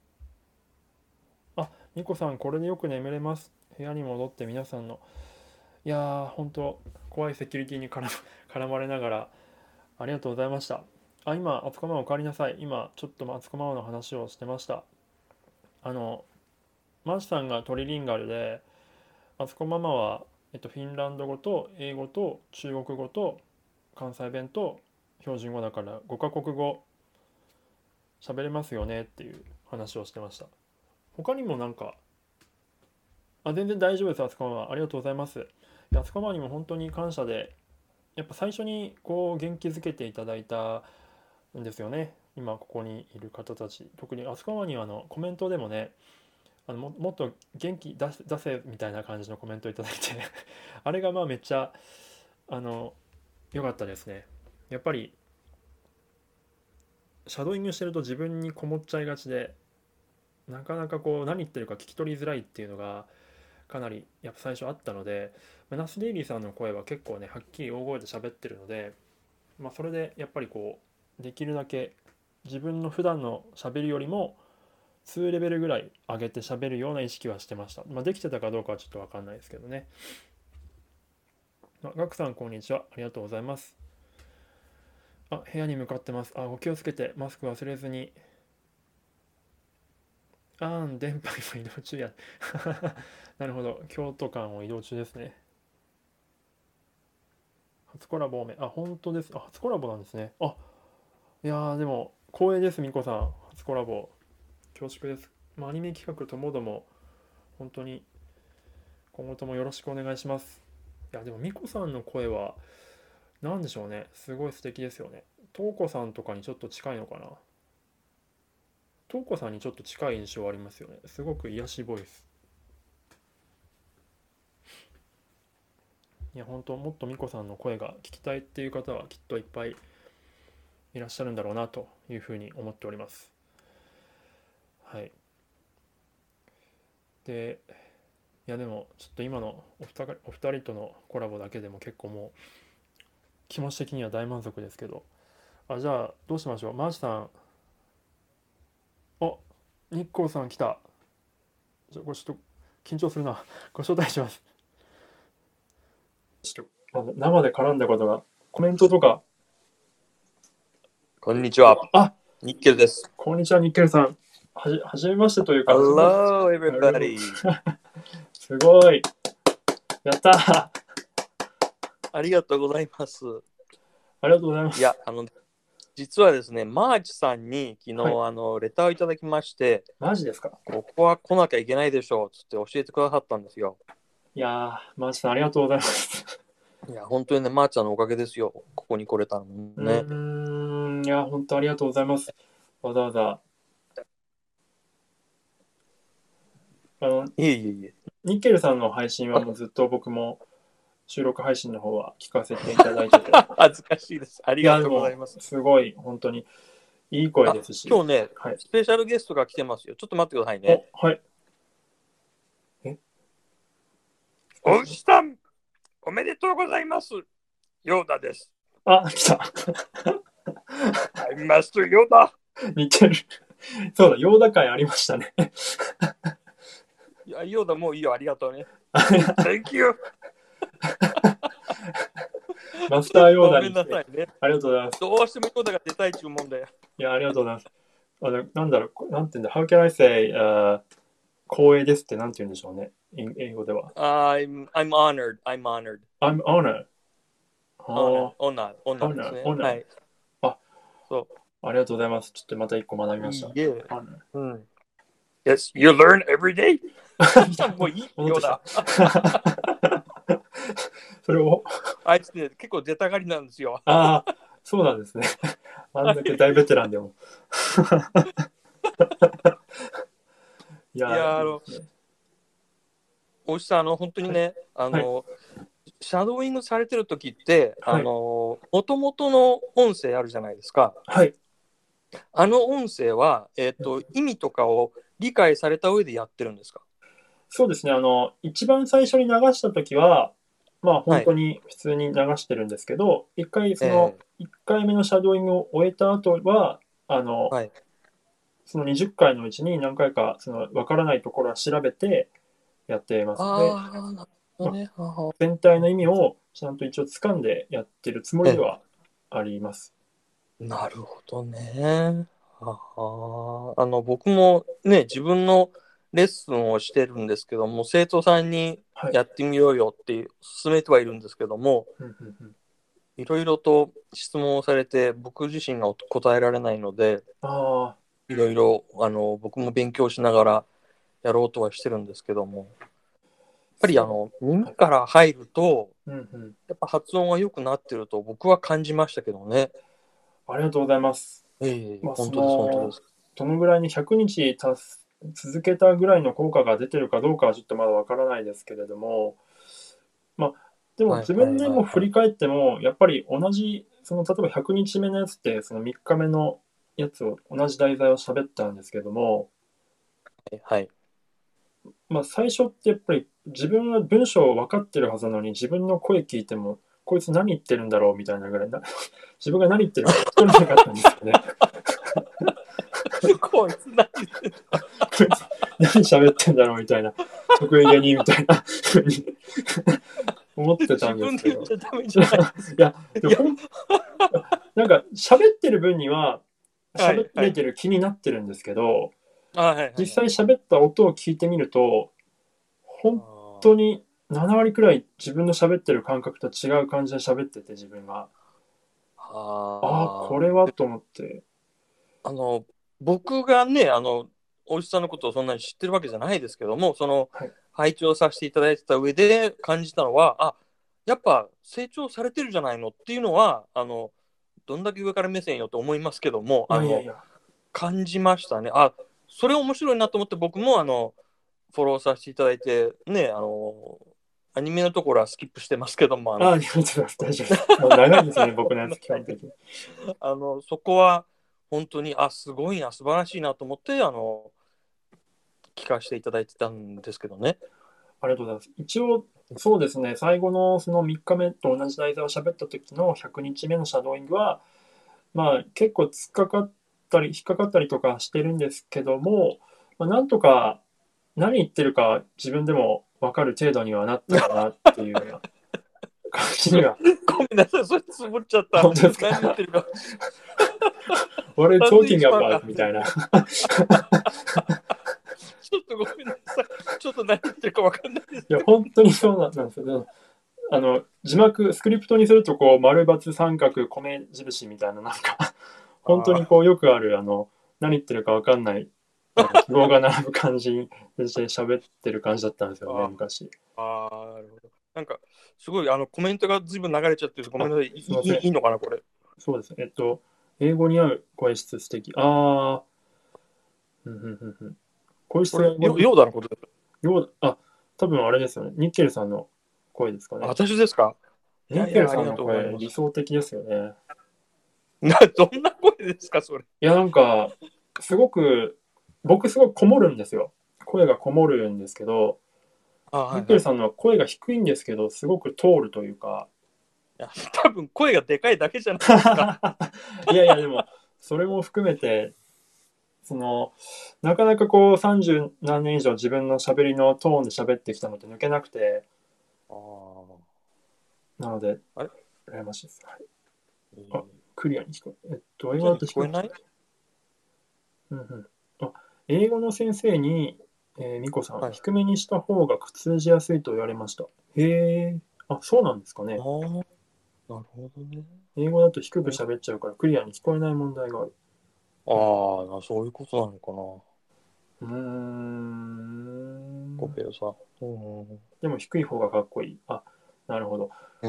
あ、みこさんこれでよく眠れます。部屋に戻って皆さんの、いやーほんと怖いセキュリティに絡絡まれながらありがとうございました。あ、今、あつこママお帰りなさい。今、ちょっとあつこママの話をしてました。あの、マーシさんがトリリンガルで、あつこママは、えっと、フィンランド語と英語と中国語と関西弁と標準語だからごカ国語喋れますよねっていう話をしてました。他にもなんか、あ、全然大丈夫です、あつこママ。ありがとうございます。あつこママにも本当に感謝で、やっぱ最初にこう元気づけていただいたんですよね。今ここにいる方たち、特にあそこまにあのコメントでもね、あの も, もっと元気出せ、出せみたいな感じのコメントいただいてあれがまあめっちゃあの良かったですね。やっぱりシャドーイングしてると自分にこもっちゃいがちで、なかなかこう何言ってるか聞き取りづらいっていうのがかなりやっぱ最初あったので、まあナスデイリーさんの声は結構ねはっきり大声で喋ってるので、まあ、それでやっぱりこうできるだけ自分の普段の喋りよりもにレベルぐらい上げて喋るような意識はしてました。まあ、できてたかどうかはちょっと分かんないですけどね。あ、ガクさんこんにちは。ありがとうございます。あ、部屋に向かってます。あ、お気をつけてマスク忘れずに。あーん、電波今移動中や。なるほど。京都間を移動中ですね。初コラボおめ。あ、本当です。あ、初コラボなんですね。あ、いやーでも光栄です、みこさん。初コラボ。恐縮です。まあ、アニメ企画ともども本当に今後ともよろしくお願いします。いやでもみこさんの声は何でしょうね、すごい素敵ですよね。とうこさんとかにちょっと近いのかな。とうこさんにちょっと近い印象ありますよね。すごく癒しボイス。いや本当もっとみこさんの声が聞きたいっていう方はきっといっぱいいらっしゃるんだろうなというふうに思っております。はい。で、いやでもちょっと今のお二人、お二人とのコラボだけでも結構もう気持ち的には大満足ですけど、あ、じゃあどうしましょう。マーシさん、あ、日光さん来た。じゃあこれちょっと緊張するな。ご招待します。ちょっとまだ生で絡んだことが、コメントとか。 こんにちは。 あ、 ニッケルです。 こんにちは、ニッケルさん。はじ、はじめましてというか。 Hello, everybody. すごい。やったー。 ありがとうございます。 ありがとうございます。 いや、あの、実はですね、マーチさんに昨日、 はい、 あのレターをいただきまして、 マジですか？ ここは来なきゃいけないでしょうつって教えてくださったんですよ。 いやー、マーチさんありがとうございます。 いや、本当にね、マーチさんのおかげですよ。ここに来れたのね。 うーん、いや、本当ありがとうございます。わざわざ。あの、 いえいえいえ。 ニッケルさんの配信はもうずっと僕も収録配信の方は聞かせていただいてて。 恥ずかしいです。ありがとうございます。 すごい、本当にいい声ですし。 今日ね、 はい、 スペシャルゲストが来てますよ。ちょっと待ってくださいね。 はい。えおうしさん、おめでとうございます。ヨーダです。 あ、来た。 I master ヨーダ。 似てる。そうだ、ヨーダ会ありましたね。 いや、ヨーダもういいよ、ありがとうね。Thank you! マスターヨーダに。 ごめんなさいね。 ありがとうございます。 どうしてもヨーダが出たい注文だよ。 いや、ありがとうございます。あのなんだろう、なんていうんだ、How can I say、uh, 光栄ですってなんて言うんでしょうね。英語では。 I'm, I'm honored. I'm honored. I'm honored. Honored. Honored. Honored ですね。 Honor. はい。 あ、 そう。 ありがとうございます。ちょっとまた一個学びました。 いいえ。 Honor. うん。Yes, you learn every day. もういいようだ。 それを。 あいつね、結構出たがりなんですよ。 ああ、そうなんですね。あんだけ大ベテランでも。いや、 いやあの、おじさん、あの、本当にね、はい、あの、はい、シャドーイングされてる時って、はい、あの、もともとの音声あるじゃないですか。 はい。 あの音声は、えっと、意味とかを理解された上でやってるんですか？ そうですね。あの、一番最初に流した時は、まあ本当に普通に流してるんですけど、一、はい、回その、いっかいめのシャドーイングを終えた後は、あの、はい、そのにじゅっかいのうちに何回かその分からないところは調べてやっていますので、ね、まあ、全体の意味をちゃんと一応掴んでやってるつもりではあります。 なるほどね。ああの僕もね、自分のレッスンをしてるんですけども、生徒さんにやってみようよって勧めてはいるんですけども、いろいろと質問をされて僕自身が答えられないので、 あいろいろあの僕も勉強しながらやろうとはしてるんですけども、やっぱりあの耳から入ると、やっぱ発音が良くなってると僕は感じましたけどね。 ありがとうございます。 ええ、まあ、本当です、本当です。 どのぐらいにひゃくにちたす続けたぐらいの効果が出てるかどうかはちょっとまだわからないですけれども、まあ、でも自分でも振り返っても、やっぱり同じ、その例えばひゃくにちめのやつって、そのみっかめのやつを、同じ題材を喋ったんですけども、 はい。 まあ、最初ってやっぱり自分は文章分かってるはずなのに、自分の声聞いても、こいつ何言ってるんだろうみたいなぐらいな、自分が何言ってるか聞き取れなかったんですよね。 こいつ何言ってんのこいつ何喋ってんだろうみたいな、得意げにみたいなふうに思ってたんですけど。 自分で言っちゃダメじゃない。 いや、でもほんなんか喋ってる分には喋れてる気になってるんですけど、 はいはい、 実際喋った音を聞いてみると、本当になな割くらい自分の喋ってる感覚と違う感じで喋ってて、自分が。ああ、これはと思って。 あの、僕がね、あの、お医者さんのことをそんなに知ってるわけじゃないですけども、その、はい、拝聴させていただいてた上で感じたのは、あ、やっぱ成長されてるじゃないのっていうのは、あの、どんだけ上から目線よと思いますけども、あの、いやいや感じましたね。あ、それ面白いなと思って、僕もあの、フォローさせていただいて、ね、あの、アニメのところはスキップしてますけども、 あの、あ、大丈夫です、大丈夫です。もう長いですよね、僕のやつ、基本的に。 あの、そこは、本当に、あ、すごいな、素晴らしいなと思って、あの、聞かせていただいてたんですけどね。 ありがとうございます。一応、そうですね、最後のそのみっかめと同じ題材を喋った時のひゃくにちめのシャドーイングは、まあ、結構突っかかったり、引っかかったりとかしてるんですけども、まあ、なんとか何言ってるか自分でも分かる程度にはなったかなっていうような感じには。 ごめんなさい、それつぼっちゃった。 本当ですか？ 何言ってるか。 俺、トーキングアバーみたいな。 ちょっとごめんなさい。ちょっと何言ってるか分かんないです。 いや、本当にそうなんですよ。あの、字幕、スクリプトにすると、こう、丸×三角、米印みたいな、なんか、本当にこう、よくある、あの、何言ってるか分かんない、記号が並ぶ感じで喋ってる感じだったんですよね、昔。 ああ、なるほど。なんか、すごい、あの、コメントがずいぶん流れちゃってる。ごめんなさい。いい、いいのかな、これ。 そうです。えっと、英語に合う声質素敵。ああ、うんうんうんうん。声質がヨーダのことですか？ ヨーダ、あ、多分あれですよね。ニッケルさんの声ですかね。 私ですか？ ニッケルさんの声、理想的ですよね。 な、どんな声ですか、それ。 いや、なんか、すごく、僕すごくこもるんですよ。声がこもるんですけど、ニッケルさんのは声が低いんですけど、すごく通るというか。 いや、多分声がでかいだけじゃないですか。 いやいや、でも、それも含めて、その、なかなかこう、さんじゅうなんねん以上自分の喋りのトーンで喋ってきたのって抜けなくて、 あなので、 あれ羨ましいです。はい、あ、クリアに聞こえる。えっと、英語だと聞こえない？ うんうん。あ、英語の先生に、えー、ミコさん、 はい、 低めにした方が通じやすいと言われました。へえ、あ、そうなんですかね。 ああ、なるほどね。 英語だと低く喋っちゃうから、クリアに聞こえない問題がある。 ああ、そういうことなのかな。 うーん。 コペルさん。うん、 でも低い方がかっこいい。あ、なるほど。 うん、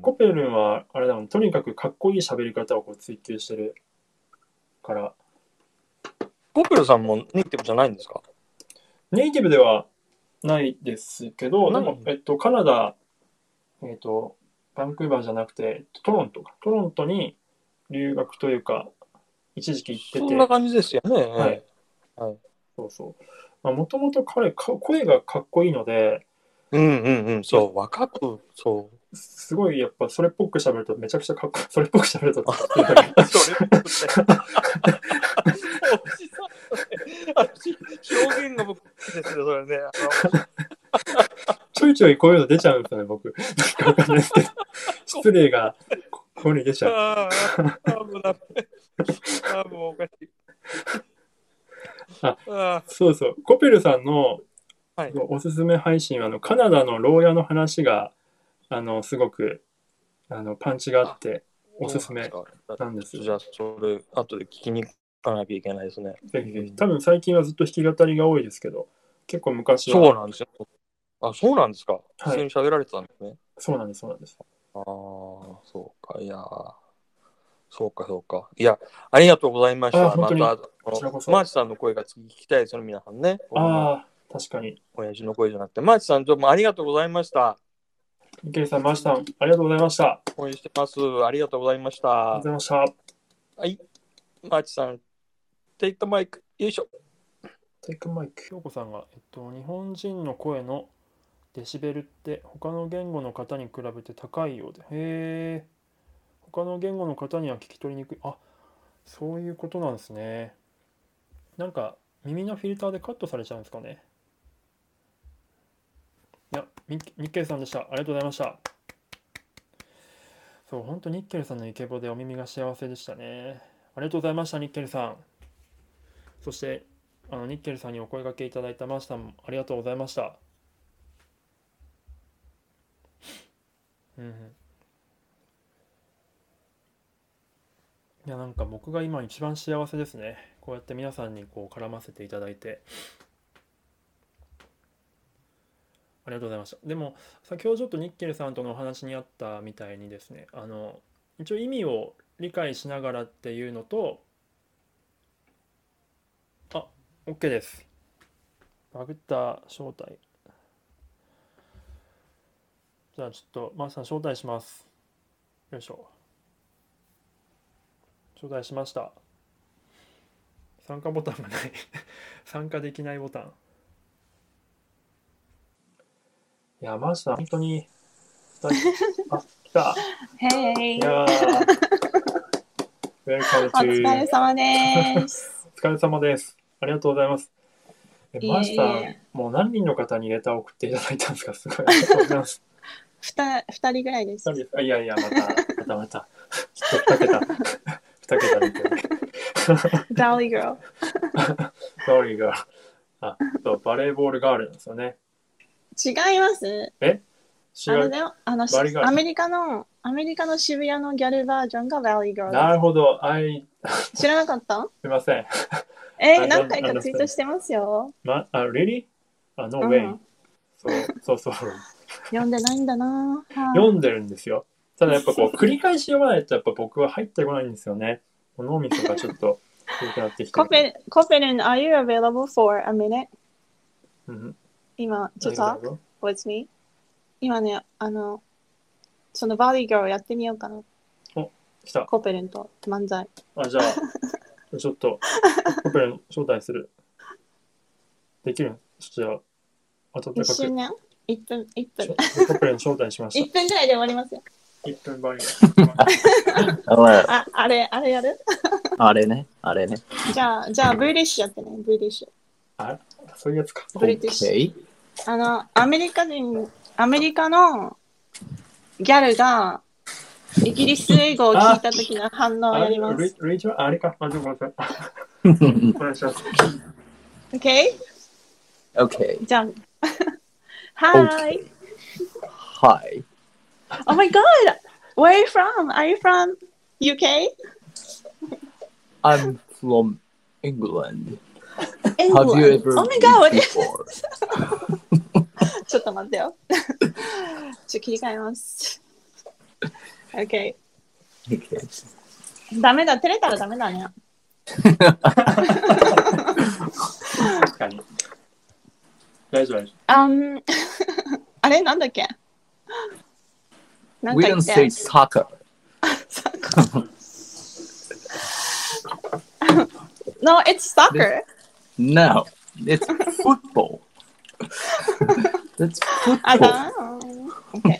コペルンは、あれだもん、とにかくかっこいい喋り方をこう追求してるから。 コペルさんもネイティブじゃないんですか？ ネイティブではないですけど、でも、えっと、カナダ、えっと、バンクーバーじゃなくて、トロントか。トロントに留学というか、一時期行ってて。 そんな感じですよね。 はい。はい、そうそう。もともと彼か、声がかっこいいので、 うんうんうん、そう、若く、そう。 すごい、やっぱ、それっぽく喋ると、めちゃくちゃかっこいい。それっぽく喋ると、 それっぽくって。表現が僕ですよ、それね。 ちょいちょいこういうの出ちゃうんですよね、僕。なんかわかんないですけど。失礼が、ここに出ちゃう。 ああ、もうダメ。ああ、もうおかしい。 あ、そうそう。コペルさんのはい、 おすすめ配信は、あの、カナダの牢屋の話が、あの、すごく、あの、パンチがあって、おすすめなんです。 じゃあ、それ、後で聞きに行かなきゃいけないですね。 ぜひぜひ。多分最近はずっと弾き語りが多いですけど、結構昔は。 そうなんですよ。あ、そうなんですか。 はい、 普通に喋られてたんですね。 そうなんです、そうなんです。 ああ、そうか。いや、そうか、そうか。いや、ありがとうございました。また、マーチさんの声が次聞きたいですよ、皆さんね。 ああ、確かに。 親父の声じゃなくて、マーチさん、どうもありがとうございました。 ミケルさん、マーチさん、ありがとうございました。 応援してます。ありがとうございました。 ありがとうございました。 はい。 マーチさん、take the mic。よいしょ。 テイクマイク。京子さんが、えっと、日本人の声のデシベルって他の言語の方に比べて高いようで。へえ。他の言語の方には聞き取りにくい。あ、そういうことなんですね。なんか耳のフィルターでカットされちゃうんですかね。いや、ニッケルさんでした。ありがとうございました。そう、本当ニッケルさんのイケボでお耳が幸せでしたね。ありがとうございました、ニッケルさん。そして、あのニッケルさんにお声掛けいただいたマシさんもありがとうございました。うんうん。いや、なんか僕が今一番幸せですね。こうやって皆さんにこう絡ませていただいて。ありがとうございました。でも、先ほどちょっとニッケルさんとのお話にあったみたいにですね、あの、一応意味を理解しながらっていうのと、あ、OK です。バグった招待。じゃあちょっと、マーさん招待します。よいしょ。招待しました。参加ボタンがない参加できないボタン。いや、マーさん、本当に、あ、来た。 Hey! いやー、Welcome お疲 to れ様です。 お疲れ様です。ありがとうございます。え、 いえいえマーさん、もう何人の方にレターを送っていただいたんですか？すごい。ありがとうございます。 ふた二人ぐらいです。 二人です。あ、いやいや、また、またまた。ちょっと二桁、二桁でいけない。 Valley Girl。 Sorry が、あ、そう、バレーボールガールなんですよね。 違います。 えあのね、あの、 バリガールアメリカの、アメリカの渋谷のギャルバージョンが Valley Girl なでるほど。あい、 す。知らなかったすいません。 え I don't 何回かツイートしてますよ。 ま、あ、really? あ、no う way. ん。 そう、そうそう。 読んでないんだな。 読んでるんですよ。ただやっぱこう、繰り返し読まないとやっぱ僕は入ってこないんですよね。脳みそがちょっと古くなってきてコる。 ペコペルン、are you available for a minute? うん。 今、to 何 talk with me? 今ね、あの、その Valley Girl やってみようかな。 来た。 コペルンと漫才。 あ、じゃあ、ちょっと、コペルン招待する。できるんじゃあ、温かく。 一瞬ね、いっぷん、いっぷん。 コペルン招待しましいっぷんぐらいで終わりますよ。 た。いっぷんバリああ、あれ、あれやるあれね、あれね。 じゃあ、じゃあ、ブリティッシュやってね、ブリティッシュ。 あ、そういうやつか。 ブリティッシュ。 OK。 あの、アメリカ人、アメリカのギャルがイギリス英語を聞いた時の反応をやりまあれ、 す。 レイチャーあれか。あ、ちょっと待って。お願いします。 OK? OK。 じゃあ、Hi! Hi. Oh my god! Where are you from? Are you from ユーケー? I'm from England. Have England. you ever Oh my god! been before? ちょっと待ってよ。ちょっと切り替えます。OK。 OK。 ダメだ、照れたらダメだね。 確かに。大丈夫、大丈あん、あれなんだっけなん We か言 don't って say soccer. No, it's soccer. No, it's football. That's あ football. だ。OK。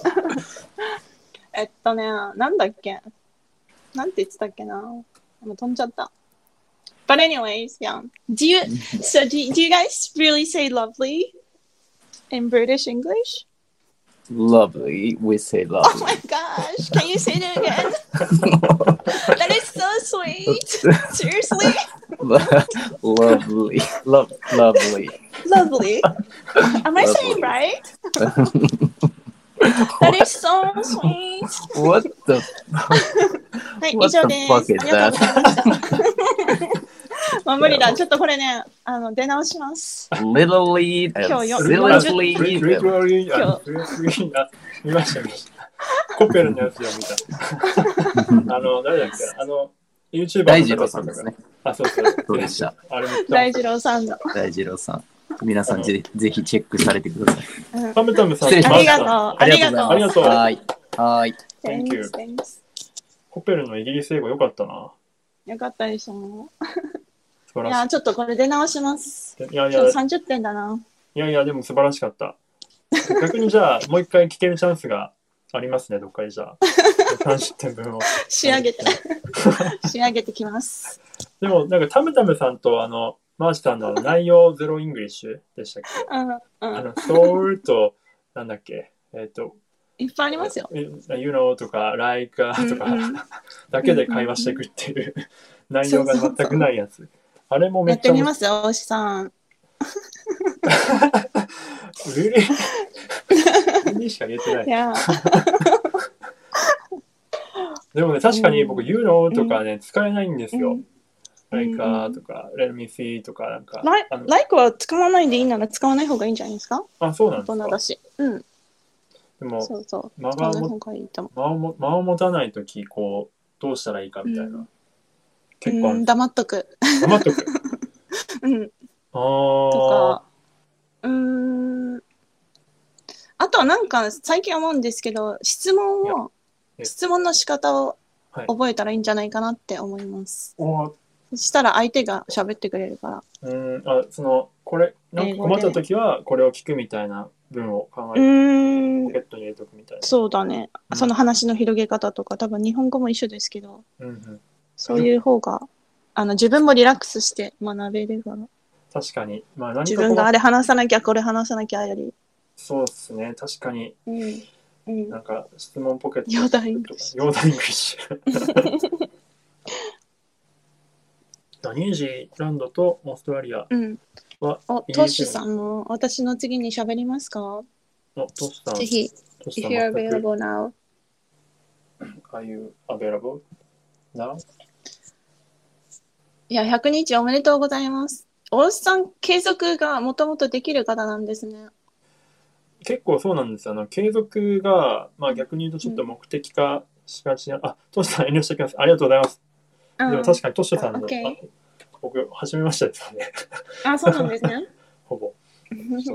えっとね、なんだっけなんて言ってたっけなもう飛んじゃった。But anyways, yeah. Do you, so do, do you guys really say lovely in British English? Lovely. We say Oh lovely. my gosh, can you say that again? That is so sweet. Seriously? Lovely. Love, lovely. Lovely. Am I saying right? That is so sweet. What the? はい、以 What 上 the で fuck す。 is ありがとうございました。 that? もう無理だ。ちょっとこれね、あの出直します。 Literally 今 and 日よ seriously 夫。リト even. ルリー、あ、リトルリー、あ、見ました、見ました。コペルのやつを見た。あの、誰だっけあの、YouTuber 大二郎さんですね。 あ、そうそう。 そうでした。 あれめっちゃ大二郎さんの。 大二郎さん。皆さんぜひぜひチェックされてください。 タムタムさん、 失礼しましたありがとう。ありがとう。 ありがとうはい。はい。 Thank you. Thanks, thanks. コペルのイギリス英語良かったな。 よかったでしょ。 素晴らしい。 いや、ちょっとこれ出直します。 いやいや、 今日さんじゅってんだな。 いやいや、でも素晴らしかった。逆にじゃあ、もう一回聞けるチャンスがありますね、どっかでじゃあ。さんじゅってんぶんを。 仕上げて。仕上げてきます。 でも、なんか、タムタムさんと、あの、マーチさんの内容ゼロイングリッシュでしたっけ？ うんうん、 あの、ソウルと、なんだっけ、えっ、ー、と、 いっぱいありますよ。 You know とか、like とか、 うんうん、 だけで会話していくっていう内容が全くないやつ。そうそうそう、あれもめやっっちゃてみますよ、大志さん。 うりうりしか言えてない。 いやでもね、確かに僕、 うん、 You know とかね、うん、使えないんですよ。 うん、 like とか、Let me see とか、なんか。 like は使わないでいいなら使わない方がいいんじゃないですか？ あ、そうなんですか。 大人だし。うん。 でも、 そうそう、 間がも間をも間を持たないとき、こう、どうしたらいいかみたいな。うん、 結構ある。黙っとく。 黙っとく。 うん。 あとか、うーん。あとはなんか、最近思うんですけど、質問を、質問の仕方を覚えたらいいんじゃないかなって思います。はい、そしたら相手が喋ってくれるから。 うん、あ、その、これ、なんか困ったときは、これを聞くみたいな文を考えて、ポケットに入れとくみたいな。 そうだね。うん、その話の広げ方とか、多分日本語も一緒ですけど、うんうん、そういう方が、あの、自分もリラックスして学べるから。 確かに。まあ、何か自分があれ話さなきゃ、これ話さなきゃより。 そうですね、確かに。 うんうん、 なんか、質問ポケット。 ヨーダイングリッシュ。 ヨーダイングリッシュ。ニュージーランドとオーストラリアは、うん、 お、トッシュさんも私の次に喋りますか？ お、トッシュさん。 ぜひ、if you're available now. Are you available now? いや、ひゃくにちおめでとうございます。大須さん、継続がもともとできる方なんですね。 結構そうなんですよ。あの継続が、まあ、逆に言うとちょっと目的化しがちな、うん、あ、トシさん遠慮しておきます。ありがとうございます。でも確かにトシさんの、 okay. 僕、初めましてですよね。 あ、そうなんですね。 ほぼ。そう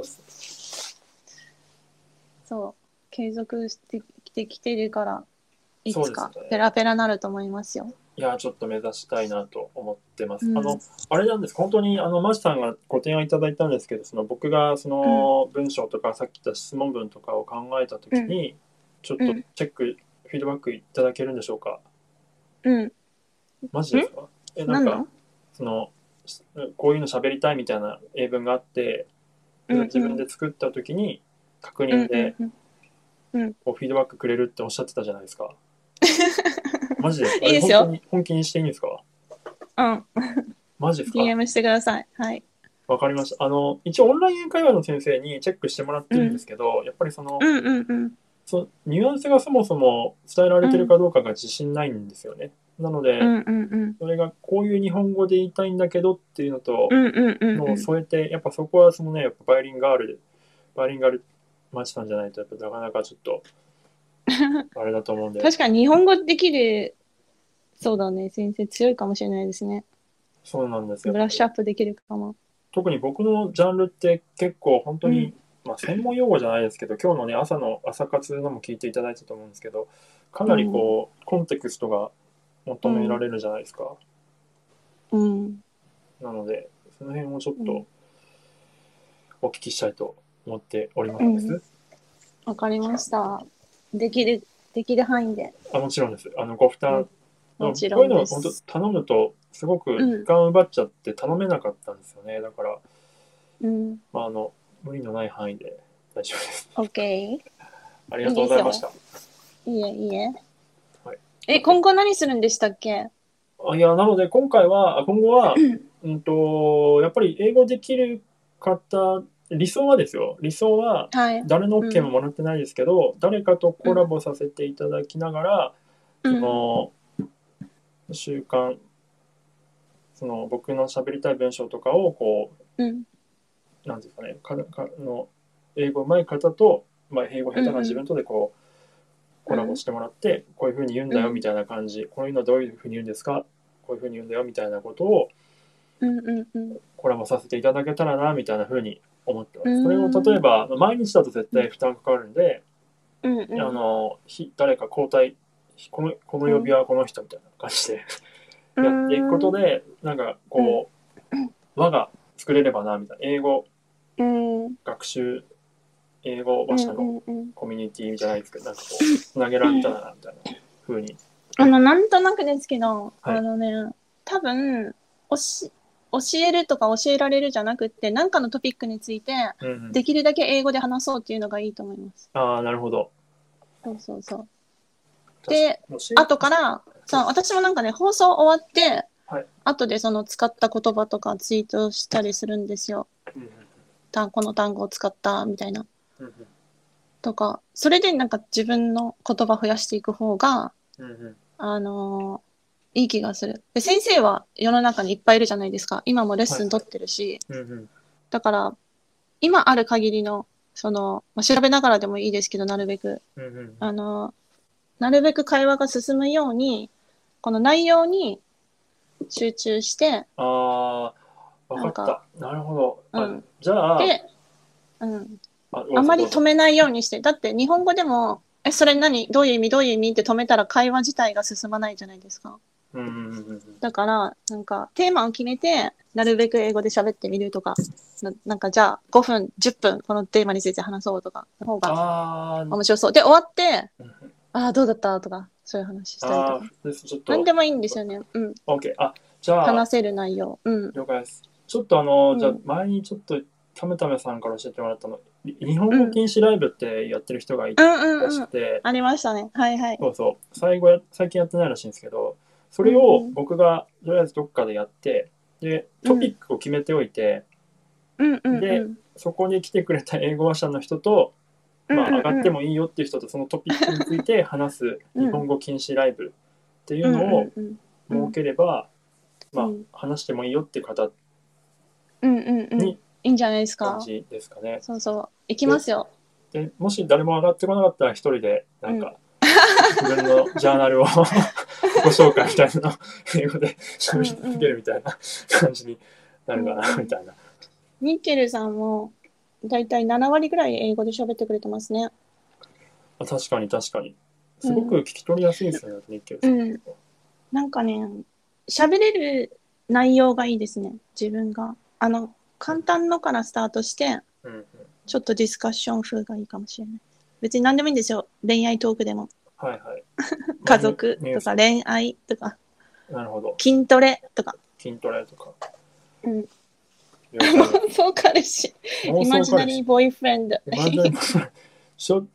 そう。継続してきてきてるから、いつかペラペラなると思いますよ。 いや、ちょっと目指したいなと思ってます。うん、あの、あれなんです。本当に、あの、マジさんがご提案いただいたんですけど、その僕がその文章とか、さっき言った質問文とかを考えたときに、うん、ちょっとチェック、うん、フィードバックいただけるんでしょうか？ うん。 マジですか？え、なんか、その、こういうの喋りたいみたいな英文があって、うんうん、自分で作ったときに、確認で、こうフィードバックくれるっておっしゃってたじゃないですか。マジですか？ いいですよ。 本当に本気にしていいんですか？ うん。 マジですか？ ディーエム してください。はい。 わかりました。あの、一応オンライン英会話の先生にチェックしてもらってるんですけど、うん、やっぱりその、 うんうんうん、 そニュアンスがそもそも伝えられてるかどうかが自信ないんですよね。うん、なので、 うんうんうん、 それがこういう日本語で言いたいんだけどっていうのと、 うんうんうんうん、 のを添えて、やっぱそこはそのね、やっぱバイリンガールで、バイリンガルマチさんじゃないと、やっぱなかなかちょっと、あれだと思うんで。 確かに日本語できる、そうだね、先生強いかもしれないですね。 そうなんですよ。 ブラッシュアップできるかも。 特に僕のジャンルって結構本当に、うん、まあ専門用語じゃないですけど、今日のね、朝の朝活のも聞いていただいたと思うんですけど、かなりこう、うん、コンテクストが求められるじゃないですか。 うん。 なので、その辺をちょっとお聞きしたいと思っております。わ、 うん、かりました。できる、できる範囲で。 あ、もちろんです。あの、ご負担、うんもちろんです。 こういうのを本当頼むとすごく時間を奪っちゃって頼めなかったんですよね。うん、だから、 うん、 まあ、あの無理のない範囲で大丈夫です。 OK。 ありがとうございました。 いいえいいえ。 はい、 え、今後何するんでしたっけ？ あいやなので今回は今後はうんとやっぱり英語できる方理想はですよ。理想は誰の OK ももらってないですけど、うん、誰かとコラボさせていただきながら、うん、その習慣その僕の喋りたい文章とかをこう、うん、なんですかねかかの英語上手い方と、まあ、英語下手な自分とでこう、うんうん、コラボしてもらって、うん、こういうふうに言うんだよみたいな感じ、うん、こういうのはどういうふうに言うんですかこういうふうに言うんだよみたいなことを、 うんうんうん、 コラボさせていただけたらなみたいなふうに思ってます。それを例えば毎日だと絶対負担かかるんで、うんうん、あの誰か交代このこの曜日はこの人みたいな感じでやっていくことで、なんかこう、輪が作れればなみたいな。英語うん学習、英語うん話者のうんうんコミュニティじゃないですけど、なんかこう、つなげられたらなみたいな風に。 あの、なんとなくですけど、 はいあのね、多分、おし教えるとか教えられるじゃなくって、何かのトピックについて、 うんうん、 できるだけ英語で話そうっていうのがいいと思います。 ああ、なるほど。 そうそうそう。で、 確かに後から、さ私もなんかね、放送終わって、 はい後でその使った言葉とかツイートしたりするんですよ。 うんうんたこの単語を使ったみたいな。 うんうんとか、それでなんか自分の言葉増やしていく方が、 うんうんあのーいい気がする。で、先生は世の中にいっぱいいるじゃないですか。今もレッスン取ってるし。 うんうんだから、今ある限りの、その、まあ、調べながらでもいいですけど、なるべく。 うんうんあのーなるべく会話が進むように、この内容に集中して、 ああ、わかっなんかた。なるほど。あうんじゃあ、 で、うん、 ああまり止めめないようにして。だって日本語でも、え、それ何どういう意味どういう意味って止めたら会話自体が進まないじゃないですか。 うんうんうんうんだから、なんか、テーマを決めて、なるべく英語で喋ってみるとか、ななんか、じゃあ、ごふん、じゅっぷん、このテーマについて話そうとか、の方がああ、 面白そう。で、終わって、 うんうんああ、どうだったとか、そういう話したりあとか。 ーですちょっと、 なんでもいいんですよね。うん。 OK。あ、じゃあ、 話せる内容。うん。 了解です。ちょっとあの、 うんじゃあ前にちょっとためためさんから教えてもらったの、に日本語禁止ライブってやってる人がいうんたうんうん。 らしくて、 ありましたね。はいはい。 そうそう、最後や最近やってないらしいんですけど、それを僕がとりあえずどっかでやって、で、トピックを決めておいて、 うんうんでうん。 そこに来てくれた英語話者の人と、まあ、上がってもいいよっていう人とそのトピックについて話す日本語禁止ライブっていうのをうん設ければ、まあうん、 話してもいいよっていう方うんうんうん。 にいいんじゃないですか。 感じですかね。 そうそう。行きますよ。 でもし誰も上がってこなかったら一人でなんか、自分のジャーナルをご紹介みたいなのを英語で喋り続けるみたいな感じになるかなみたいな。 ニッケルさんもだいたいなな割ぐらい英語で喋ってくれてますね。 あ確かに確かに。すごく聞き取りやすいですよね、ニッケルさ。 うんん。なんかね、喋れる内容がいいですね。自分が。あの、簡単のからスタートして、 うんうん、 ちょっとディスカッション風がいいかもしれない。別に何でもいいんですよ。恋愛トークでも。 はいはい。 家族ニュースとか恋愛とか、 なるほど。 筋トレとか。 筋トレとか。 うん。 了解妄想彼氏。イマジナリーボーイフレンド。 イマジナリーしょ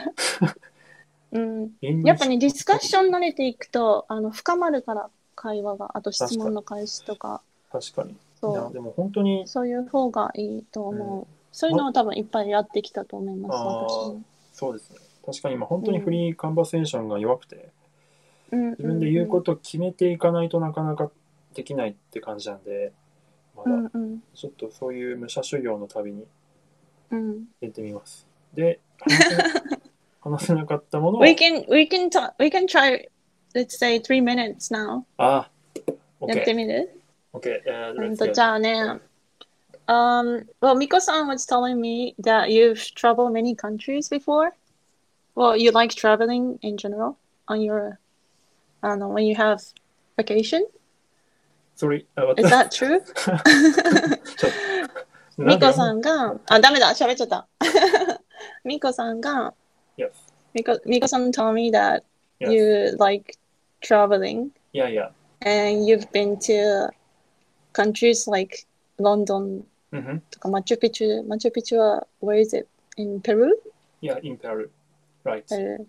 うん。 イングリッシュやっぱね、ディスカッション慣れていくと、あの、深まるから、会話が。あと質問の開始とか。 確かに。いそやでも本当にう。そういう方がいいと思う。 うんそういうのを多分いっぱいやってきたと思います、 あー私も。 そうですね。確かに今本当にフリーカンバセーションが弱くて、 うん自分で言うことを決めていかないとなかなかできないって感じなんで、まうんだうんちょっとそういう武者修行の旅にうん。 出てみます。で、話せ話せなかったものを、 We can, we can, ta- we can try, let's say three minutes now. あ、 やって OK。 みる OK。Uh, うん let's と、 get- じゃあね。Um, well, Miko-san was telling me that you've traveled many countries before. Well, you like traveling in general on your, I don't know, when you have vacation. Sorry. あ、私 Is that true? ちょっとなんでミコさんが、あ、ダメだ、喋っちゃった。ミコさんが、 Yes. ミコ、ミコさん told me that Yes. you like traveling Yeah, yeah. and you've been to countries like London うんふん。 とかマチュピチュ。マチュピチュは where is it? In Peru? Yeah, in Peru. Right. Peru.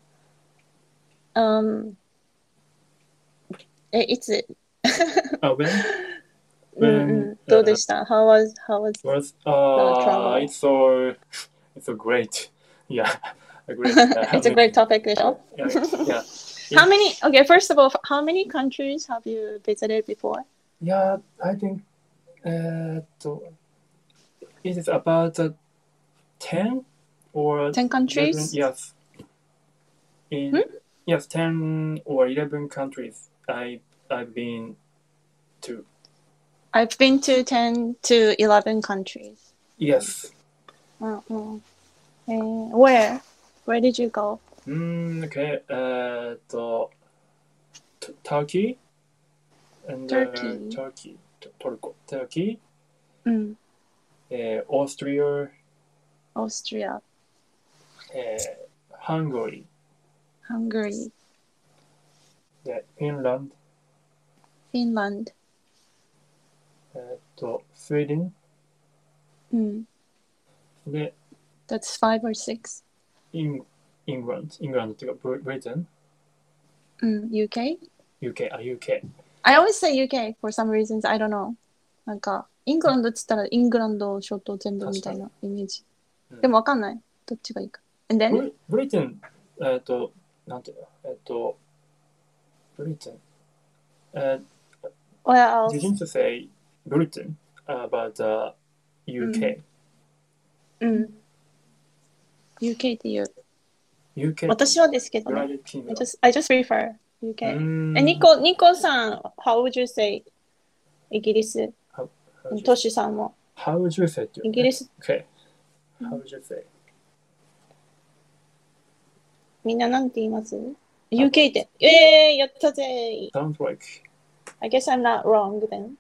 Um, え、いつ、 あ、when? うんうん、どうでした ?How was, how was, Was, The uh, travel. it's so, it's so great. Yeah, a great. Uh, it's a great topic でしょ Yeah, yeah. How many, okay, first of all, how many countries have you visited before? Yeah, I think, えーっと、it is about uh, ten or ten countries? eleven, yes. In, Hmm? Yes, ten or eleven countries I, I've been to. I've been to ten to eleven countries. Yes. うんうんえー where? Where did you go? うーん、okay. えーっと、Turkey? and Turkey. Turkey, トルコ、Turkey、 うん。 えー、Austria、 オーストリア、 えー、Hungary、 ハンガリー、 で、Finland、 フィンランド。 えーっと、Sweden、 うん。 で、 That's five or six. イン、イングランド、イングランドっていうか、ブリブリテン、 うん。ユーケー? UK、あ、ユーケー。 I always say ユーケー for some reasons. I don't know. なんか、イングランドって言ったらイングランド諸島全部みたいなイメージ。 うんでもわかんない。どっちがいいか。And ブ then? リブリテン、えーっと、なんていうの、えーっと、ブリテン、えー Where else? didn't you say Britain about the ユーケー?、 うん。ユーケー っていう。 ユーケー私はですけどね。 United I Kingdom。 just, I just prefer ユーケー。 うーんえ、ニコ、ニコさん、how would you say イギリス？ How, how, would you, トシさんも。 how would you say っていうのねイギリス、 Okay. How would you say? みんななんて言います？ ユーケー って。えー、やったぜ。 Sounds like I guess I'm not wrong then.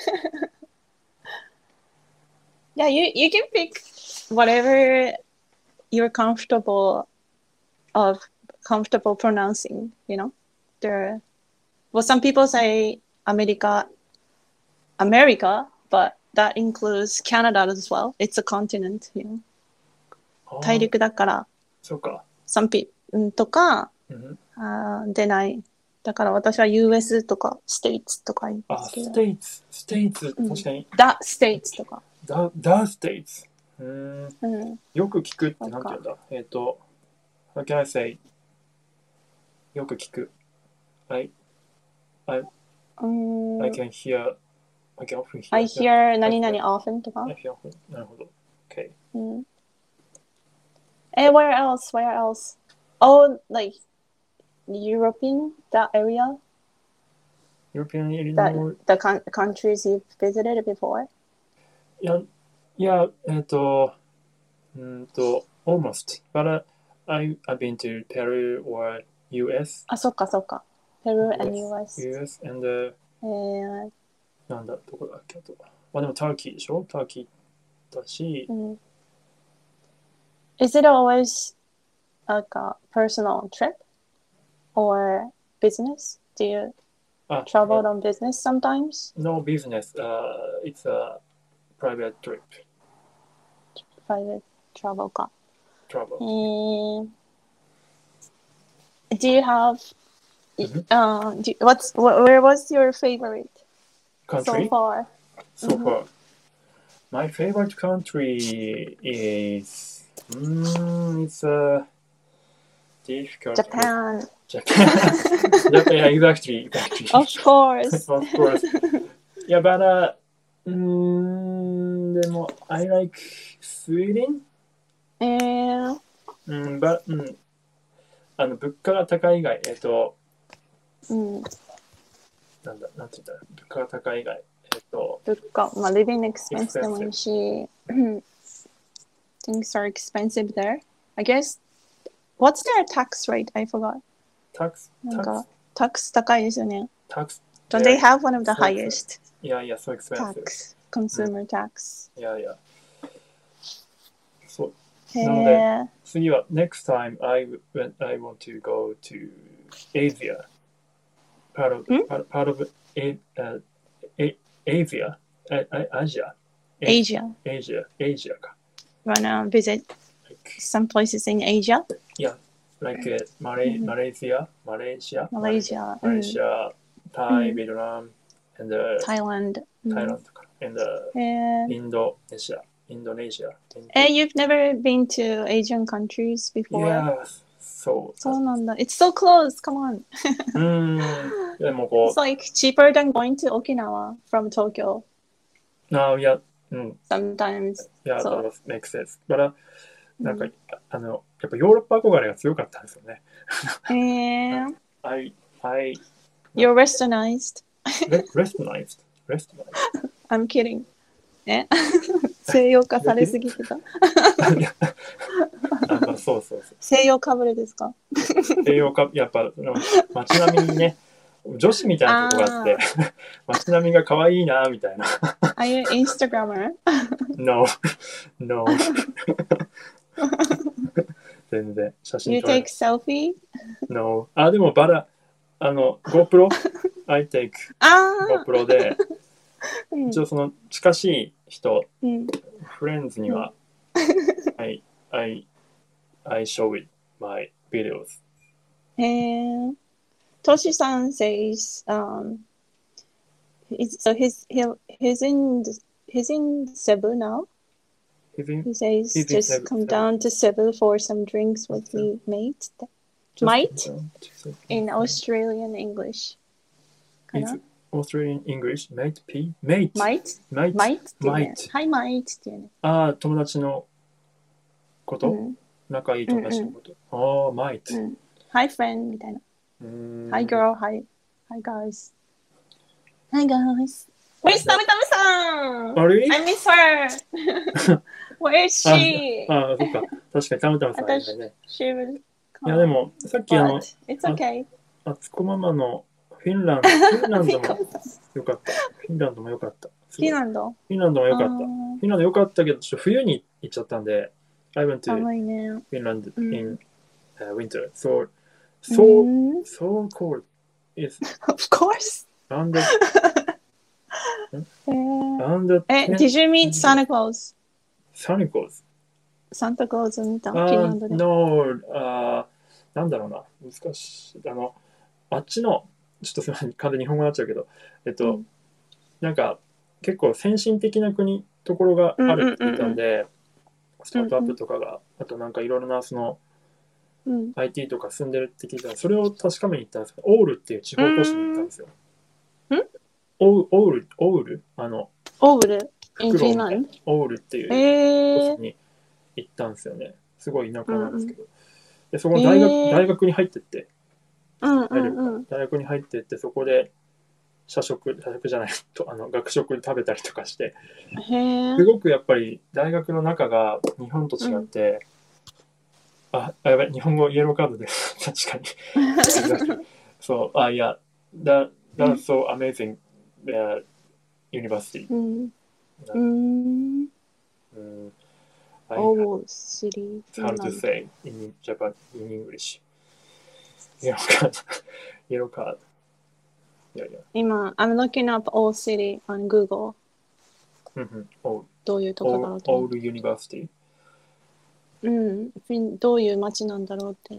Yeah, you, you can pick whatever you're comfortable of comfortable pronouncing, you know? There, well, some people say America, America, but that includes Canada as well. It's a continent, you know? あー大陸だから、 そうか。 some people とか、 うんあー出ない。だから私は ユーエス とか States とか言うんであ、 すけど。 ステイツ、ステイツ、 うん確かに、 The States とか。 ダ、ダステイツ。うーん、 うん。 よく聞くってなんて言うんだえっ、と、how can I say? よく聞く。I, I, うーん I can hear, I can often hear. I hear 何々 often とか。 I hear often. なるほど。Okay. うん。え、where else? Where else? Oh, like European, that area? European That, Illinois. the con- countries you've visited before? いや、いや、えっ、と、うーんと、almost. But、uh, I, I've been to Peru or ユーエス. あ、そっかそっか。Peru and ユーエス。 ユーエスand、uh, えー、 なんだ、どこだっけあと。まあでも、ターキーでしょターキーだしう、ん。Is it always like a personal trip or business? Do you あ、 travel on business sometimes? No business. Uh, it's a private trip. Private travel か。 Travel. えー、Do you have, Mhm. uh, do, what's, wh- where was your favorite so Country? far? So Mhm. far. My favorite country is. Mm, it's a difficult. Japan. Japan. Japan. Yeah, exactly. Exactly. Of course. Of course. Yeah, but uh, mm, でも I like Sweden. えー、 うん、but うん。あの物価が高い以外、えっと、 うん、 なんだ、なんて言ったら、物価が高い以外、えっと、 物価、まあ、living expense でもいいし、things are expensive there. I guess, what's their tax rate? I forgot. tax, なんか tax, tax 高いですよね。 tax, Don't they have one of the so highest yeah, yeah, so expensive. tax, consumer tax? Yeah, yeah. そう、 へなのでえ、 次は、next time I, when I want to go to Asia, part of, ん part, part of A, uh, A, Asia, A, A, Asia, Asia. Asia, Asia か。 Wanna visit Like, some places in Asia? like uh, Malay, うん Malaysia, Malaysia, Malaysia, Malaysia, Thai, うん Vietnam, and uh, Thailand. うん Thailand とか、and uh, へえ、 インドネシア、インドネシア。 え、you've never been to Asian countries before? Yeah, そう。 そうなんだ。It's so close. Come on. うーん。でもこ It's like cheaper than going to Okinawa from Tokyo う、あいや、うん。 sometimes. いや、 そう that was makes sense. But, なんか、 うんあの、やっぱヨーロッパ憧れが強かったんですよね。 えー、 I, I, You're westernized. re- recognized, recognized. I'm kidding. え西洋化されすぎてた。 いやあまあ、そうそうそう。 西洋かぶれですか？ 西洋か、やっぱ、その街並みにね、 女子みたいなとこがあって、街並みが可愛いな、みたいな。 Are you Instagrammer? No, no. 全然写真 You 撮れ take selfie? No. あ、でもバラ、あの、GoPro? I take あ GoPro で、 ー、うん一応その近しい人、 うんフレンズには、I, I, I show it my videos. へー。トシさん says, um, he's, so he's, he'll, he's in, he's in Cebu now. He's in, He says, he's in just Cebu- come Cebu. down to Cebu for some drinks with me, mate. just Might? down to Cebu. In Australian English. かな It's Australian English, mate, P, mate, Might? mate, Might っていうね。 Might. はい、Might っていうね。 ああ、友達のこうと、 ん。 仲いい友達のこと。ああ、might. うん。Hi, friend みたいな。 うーん Hi, girl. Hi. Hi, guys. Hi, guys. Where's タムタムさんあれ I miss her. Where is she? ああ、そっか。確かにたまたまさんいないね。 She will いや、でも、さっきあの But、it's okay. あつこママのフィンランド、フィンランドもよかった。フィンランドもよかった。 フィンランドフィンランドもよかった。 あフィンランドよかったけど、ちょっと冬に行っちゃったんで、I went ー to 寒いね。 Finland うん in、uh, winter. So, う so, ん so cold. It's Of course. under, えー under え、 ten Did you meet Santa Claus? Santa Claus. サンタクローズ見たフィンラあンドで。 no, あーなんだろうな。難しい。あの、あっちの、ちょっとすみません、完全に日本語になっちゃうけど、えっと、 うんなんか、結構先進的な国、ところがあるって言ったんで、スタートアップとかが、あとなんかいろいろなその、 うんアイティー とか住んでるって聞いたら、それを確かめに行ったんですけど、オールっていう地方都市に行ったんですよ。 んオーオール、オールあの、 オール in フクロウみたいな Finland? オールっていうえー都市に行ったんですよね。すごい田舎なんですけど。でそこの大学、 えー大学に入ってって、 うんうんうん。 大学に入ってってそこで社食社食じゃないとあの学食で食べたりとかしてへえす。ごくやっぱり大学の中が日本と違って、うん、あやばい日本語イエローカードで確かにそうあいや that that's so amazing、uh, university うんうん um, I Old City. how to say in Japan in English イエローカードイエローカードいやいや今、I'm looking up Old City on Google. うんうんオールどういうとこだろうと思う。 オールユニバーシティうん。フィンどういう街なんだろうって。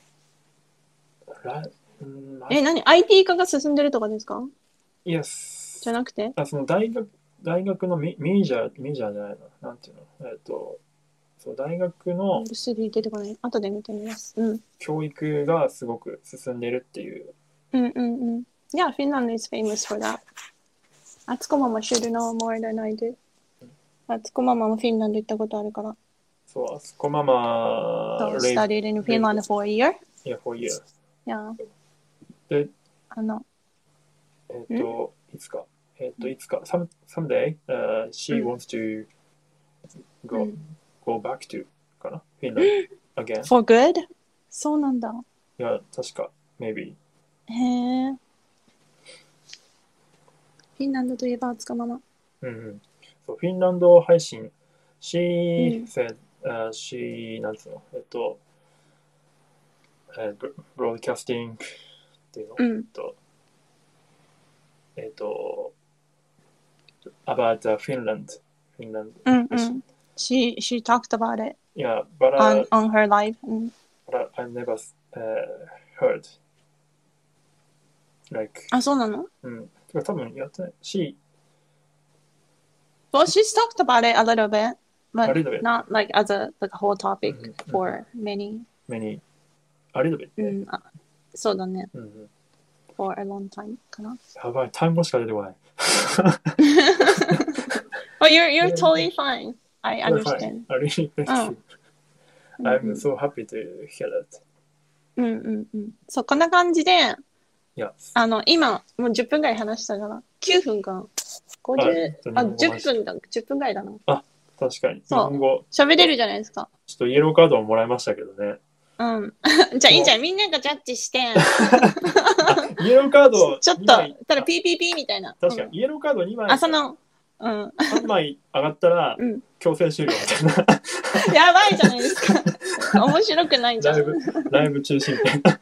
ラうんえ、何 ?アイティー 化が進んでるとかですか Yes じゃなくてあその大学大学のメメジャーメジャーじゃないななんていうのえっとそう大学の Old City 出てこない。後で見てみます。うん。 教育がすごく進んでるっていううんうんうん。Yeah, Finland is famous for that. あつこママ should know more than I do. あつこママもフィンランド行ったことあるから。 そうあそこママ So, studied in Finland for a year? Yeah, for a year. Yeah. であの、 えっといつかえっといつか some someday、uh, she うん wants to う go、 ん go back to かな Finland again For good? そうなんだ。 いや確か maybe へえ。フィンランドといえばあつこママ。 うんうんそうフィンランド配信 She うん said、uh, she なんつうのえっと、えー、ブロードキャスティングっていうの、 うんえっとえっと about、uh, Finland Finland うんうん。She, she talked about it yeah but, on, uh, on her live. うん but I never、uh, heard like あ、そうなのうんてか多分やってない She Well, she's talked about it a little bit, but A little bit. not like as a like a whole topic うんうん for many. many a little bit うね、 ん、あそうだね。 うんうん for a long time かな。 やばい単語しか出てこない Oh, you're you're totally fine. I You're fine. understand. I really thank うん you. うん I'm so happy to hear that. うんうんうん。そう、こんな感じで、 Yeah. あの、今、もうじゅっぷんぐらい話したから、きゅうふんか。ごじゅう、あ、 あじゅっぷんだ、じゅっぷんぐらいだな。 確かに。日そう本語、 喋れるじゃないですか。 ちょっとイエローカードももらいましたけどね。 うん。じゃあいいじゃん。みんながジャッジして。 イエローカードちょっと、 にまいただ ピーピーピー みたいな。 確かに、 うんイエローカードにまい、 あ、その、うん。 さんまい上がったらうん。 強制終了みたいな。 やばいじゃないですか。面白くないじゃん。 ライブ、ライブ中止みたいな。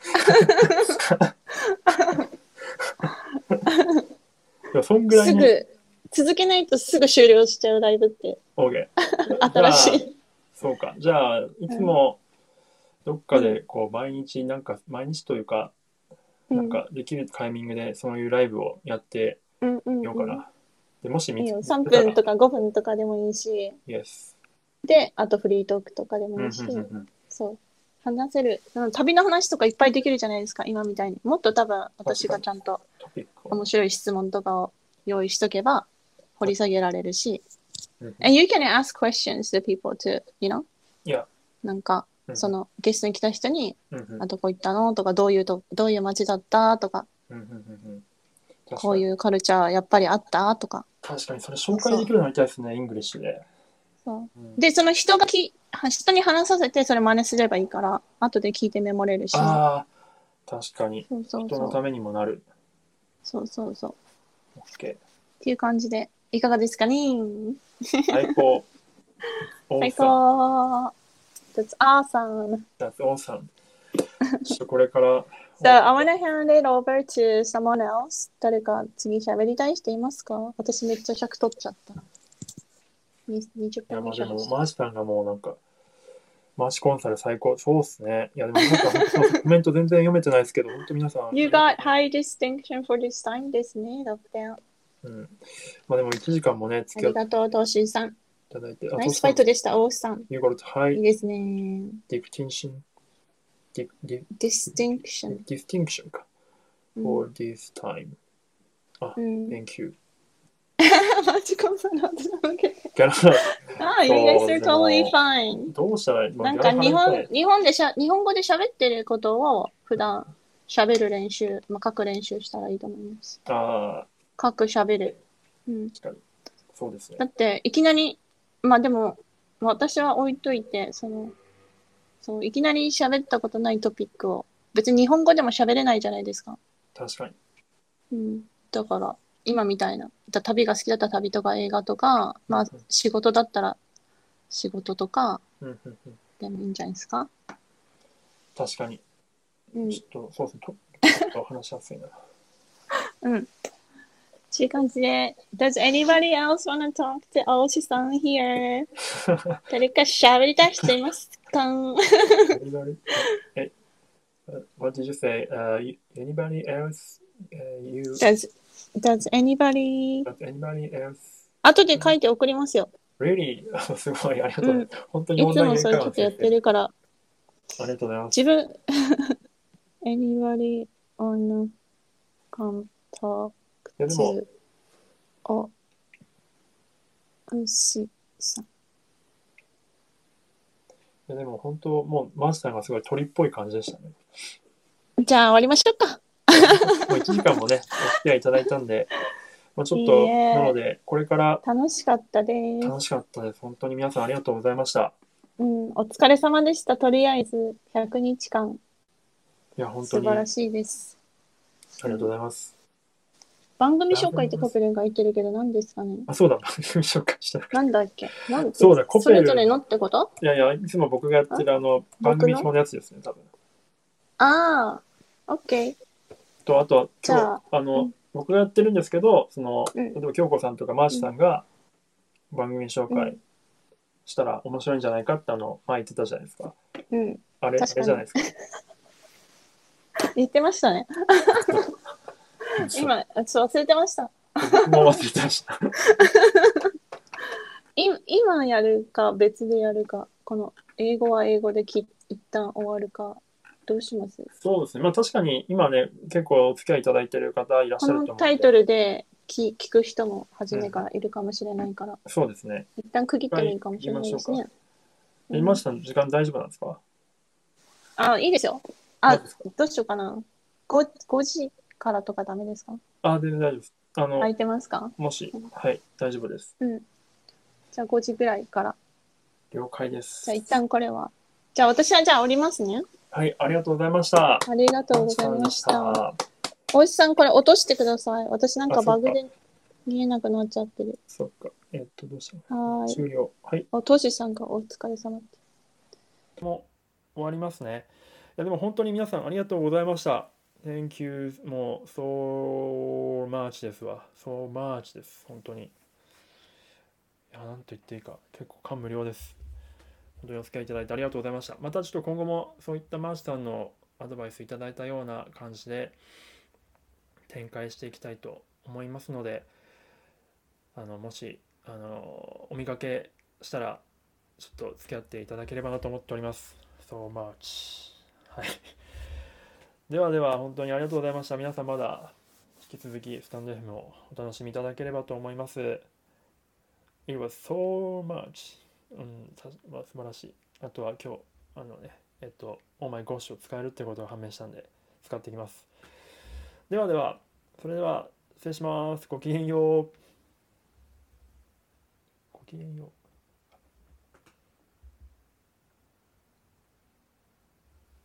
でもそんぐらいに。 すぐ、続けないとすぐ終了しちゃうライブって。 OK。 新しい。 そうか。じゃあ、いつもどっかでこう毎日、なんか、毎日というか、なんかできるタイミングでそういうライブをやってうんうんみようかな。でもし見ついいよ。 けたらさんぷんとかごふんとかでもいいし、 Yes。 で、あとフリートークとかでうんうんもいいし、 うんうんそう。話せる、うん旅の話とかいっぱいできるじゃないですか、今みたいに。もっと多分私がちゃんとトピックを面白い質問とかを用意しとけば掘り下げられるし。 うんうん And you can ask questions to people to, you know? いや、 なんか、 うんそのゲストに来た人に、 うんうんあどこ行ったのとか、どういうと、どういう街だったとか、 うんうんうんうん確こうかにいうカルチャーやっぱりあったとか。 確かにそれ紹介できるようになりたいですね、イングリッシュで。 そううんで、その人がき、人に話させて、それ真似すればいいから、後で聞いてメモれるし。 ああ、確かに。 そうそうそう。 人のためにもなる。 そうそうそう。 OK。 っていう感じで、いかがですかね。 最高。 最 Awesome。 高。That's awesome. That's awesome。ちょっとこれから。 So, I wanna hand it over to someone else. 誰か次喋りたい人いますか？私めっちゃ尺取っちゃった。ににじゅっいや、 分まあでも、 以上話しマーシさんがもうなんか、マーシコンサル最高。そうっすね。いや、でもなんか本当コメント全然読めてないですけど、本当皆さん。 You got high distinction for this time ですね。だってあうん。まあでもいちじかんもね、付き合ってりがとう、トーシーさん。 いただいて。 ナイスファイトでした、オースさん。 You got いい high ですね。 distinction. Di- di- distinction。 distinction か。 うん for this time. あ、 うん thank you. マジコンサル私のわけで。 ギャラ、 ああ、you guys そう are でも totally fine. どうしたらいい、まあなんか日ギャラ払本いたい日本でしゃ日本語で喋ってることを普段喋る練習、まあ、書く練習したらいいと思います。 あ書く喋る。うん。 あ、確かに。そうですねだ。っていきなり、まあでも私は置いといて、その、そういきなり喋ったことないトピックを別に日本語でも喋れないじゃないですか。 確かに。 うん。だから今みたいな、だ旅が好きだったら旅とか映画とか、まあ仕事だったら仕事とかうんうんうん、 でもいいんじゃないですか。 確かに。 うん。 ちょっと、そうですね。とちょっと話しやすいな。 うん。っていう感じで、Does anybody else wanna talk to 青志さん here? 誰か喋りたい人いますか？ Anybody? え、What did you say? Uh, you- anybody else? Uh, you? Does, does anybody? Does anybody else? 後で書いて送りますよ。 Really? すごい、ありがとうございます。本当にいオンラインつもそういうことやってるから、 ありがとうございます。 自分、anybody wanna come talk いやでも、 to 青志さん。 いやでも本当、もうマスターがすごい鳥っぽい感じでしたね。 じゃあ終わりましょうか。 もういちじかんもね、お付き合いいただいたんで、まあ、ちょっと、 いいえなので、これから楽しかったです。 楽しかったです。本当に皆さんありがとうございました。 うん、お疲れ様でした。とりあえずひゃくにちかんいや、本当にあり素晴らしいです。 がとうございます。 番組紹介ってコペルが言ってるけど何ですかね。 あ、そうだ、番組紹介したかった。 なんだっけなんてそうだコペルそれぞれのってこと？ いやいや、いつも僕がやってるあの、番組表のやつですね、多分。 ああ、オッケー。 と、あとは、 じゃあ今日、あの、 うん僕がやってるんですけど、その、 うん例えば京子さんとかマーシさんが番組紹介うんしたら面白いんじゃないかってあの、前言ってたじゃないですか。 うん。 あれ、あ確かにれじゃないですか。 言ってましたね。今、そう忘れてました。 僕も忘れてました。 い今やるか別でやるか、この英語は英語でき一旦終わるか、どうします？ そうですね。まあ確かに今ね、結構お付き合いいただいてる方いらっしこゃると思うので。 のタイトルで聞聞く人も初めからいるかもしれないから、 そうですね。 一旦区切ってもいいかもしれないですね。 え今下の時間大丈夫なんですか？ あ、いいですよ。 どあうですか、 どうしようかな。ご, ごじからとかダメですか？ あ、全然大丈夫です。あの、 空いてますか？ もし、はい、大丈夫です。 うん。じゃあごじぐらいから。 了解です。 じゃあ一旦これは。じゃあ私はじゃあ降りますね。 はい、ありがとうございました。 ありがとうございました。 楽しかったでしたおいしさん、これ落としてください。私なんかバグで見えなくなっちゃってる。 そっか。えっと、どうしよう。 はーい。 終了。はい。 お、トシさんがお疲れ様って。 もう終わりますね。いや、でも本当に皆さんありがとうございました。Thank you もう so much ですわ。so much です。本当に。いや、なんと言っていいか。結構感無量です。本当にお付き合いいただいてありがとうございました。またちょっと今後もそういったマーチさんのアドバイスいただいたような感じで展開していきたいと思いますので、あのもしあのお見かけしたらちょっと付き合っていただければなと思っております。so much。はい。ではでは本当にありがとうございました。皆さんまだ引き続きスタンド エフエム をお楽しみいただければと思います。It was so much。うん、さまあ、素晴らしい。あとは今日、あのね、えっと、Oh my gosh を使えるってことが判明したんで、使っていきます。ではでは、それでは失礼します。ごきげんよう。ごきげんよう。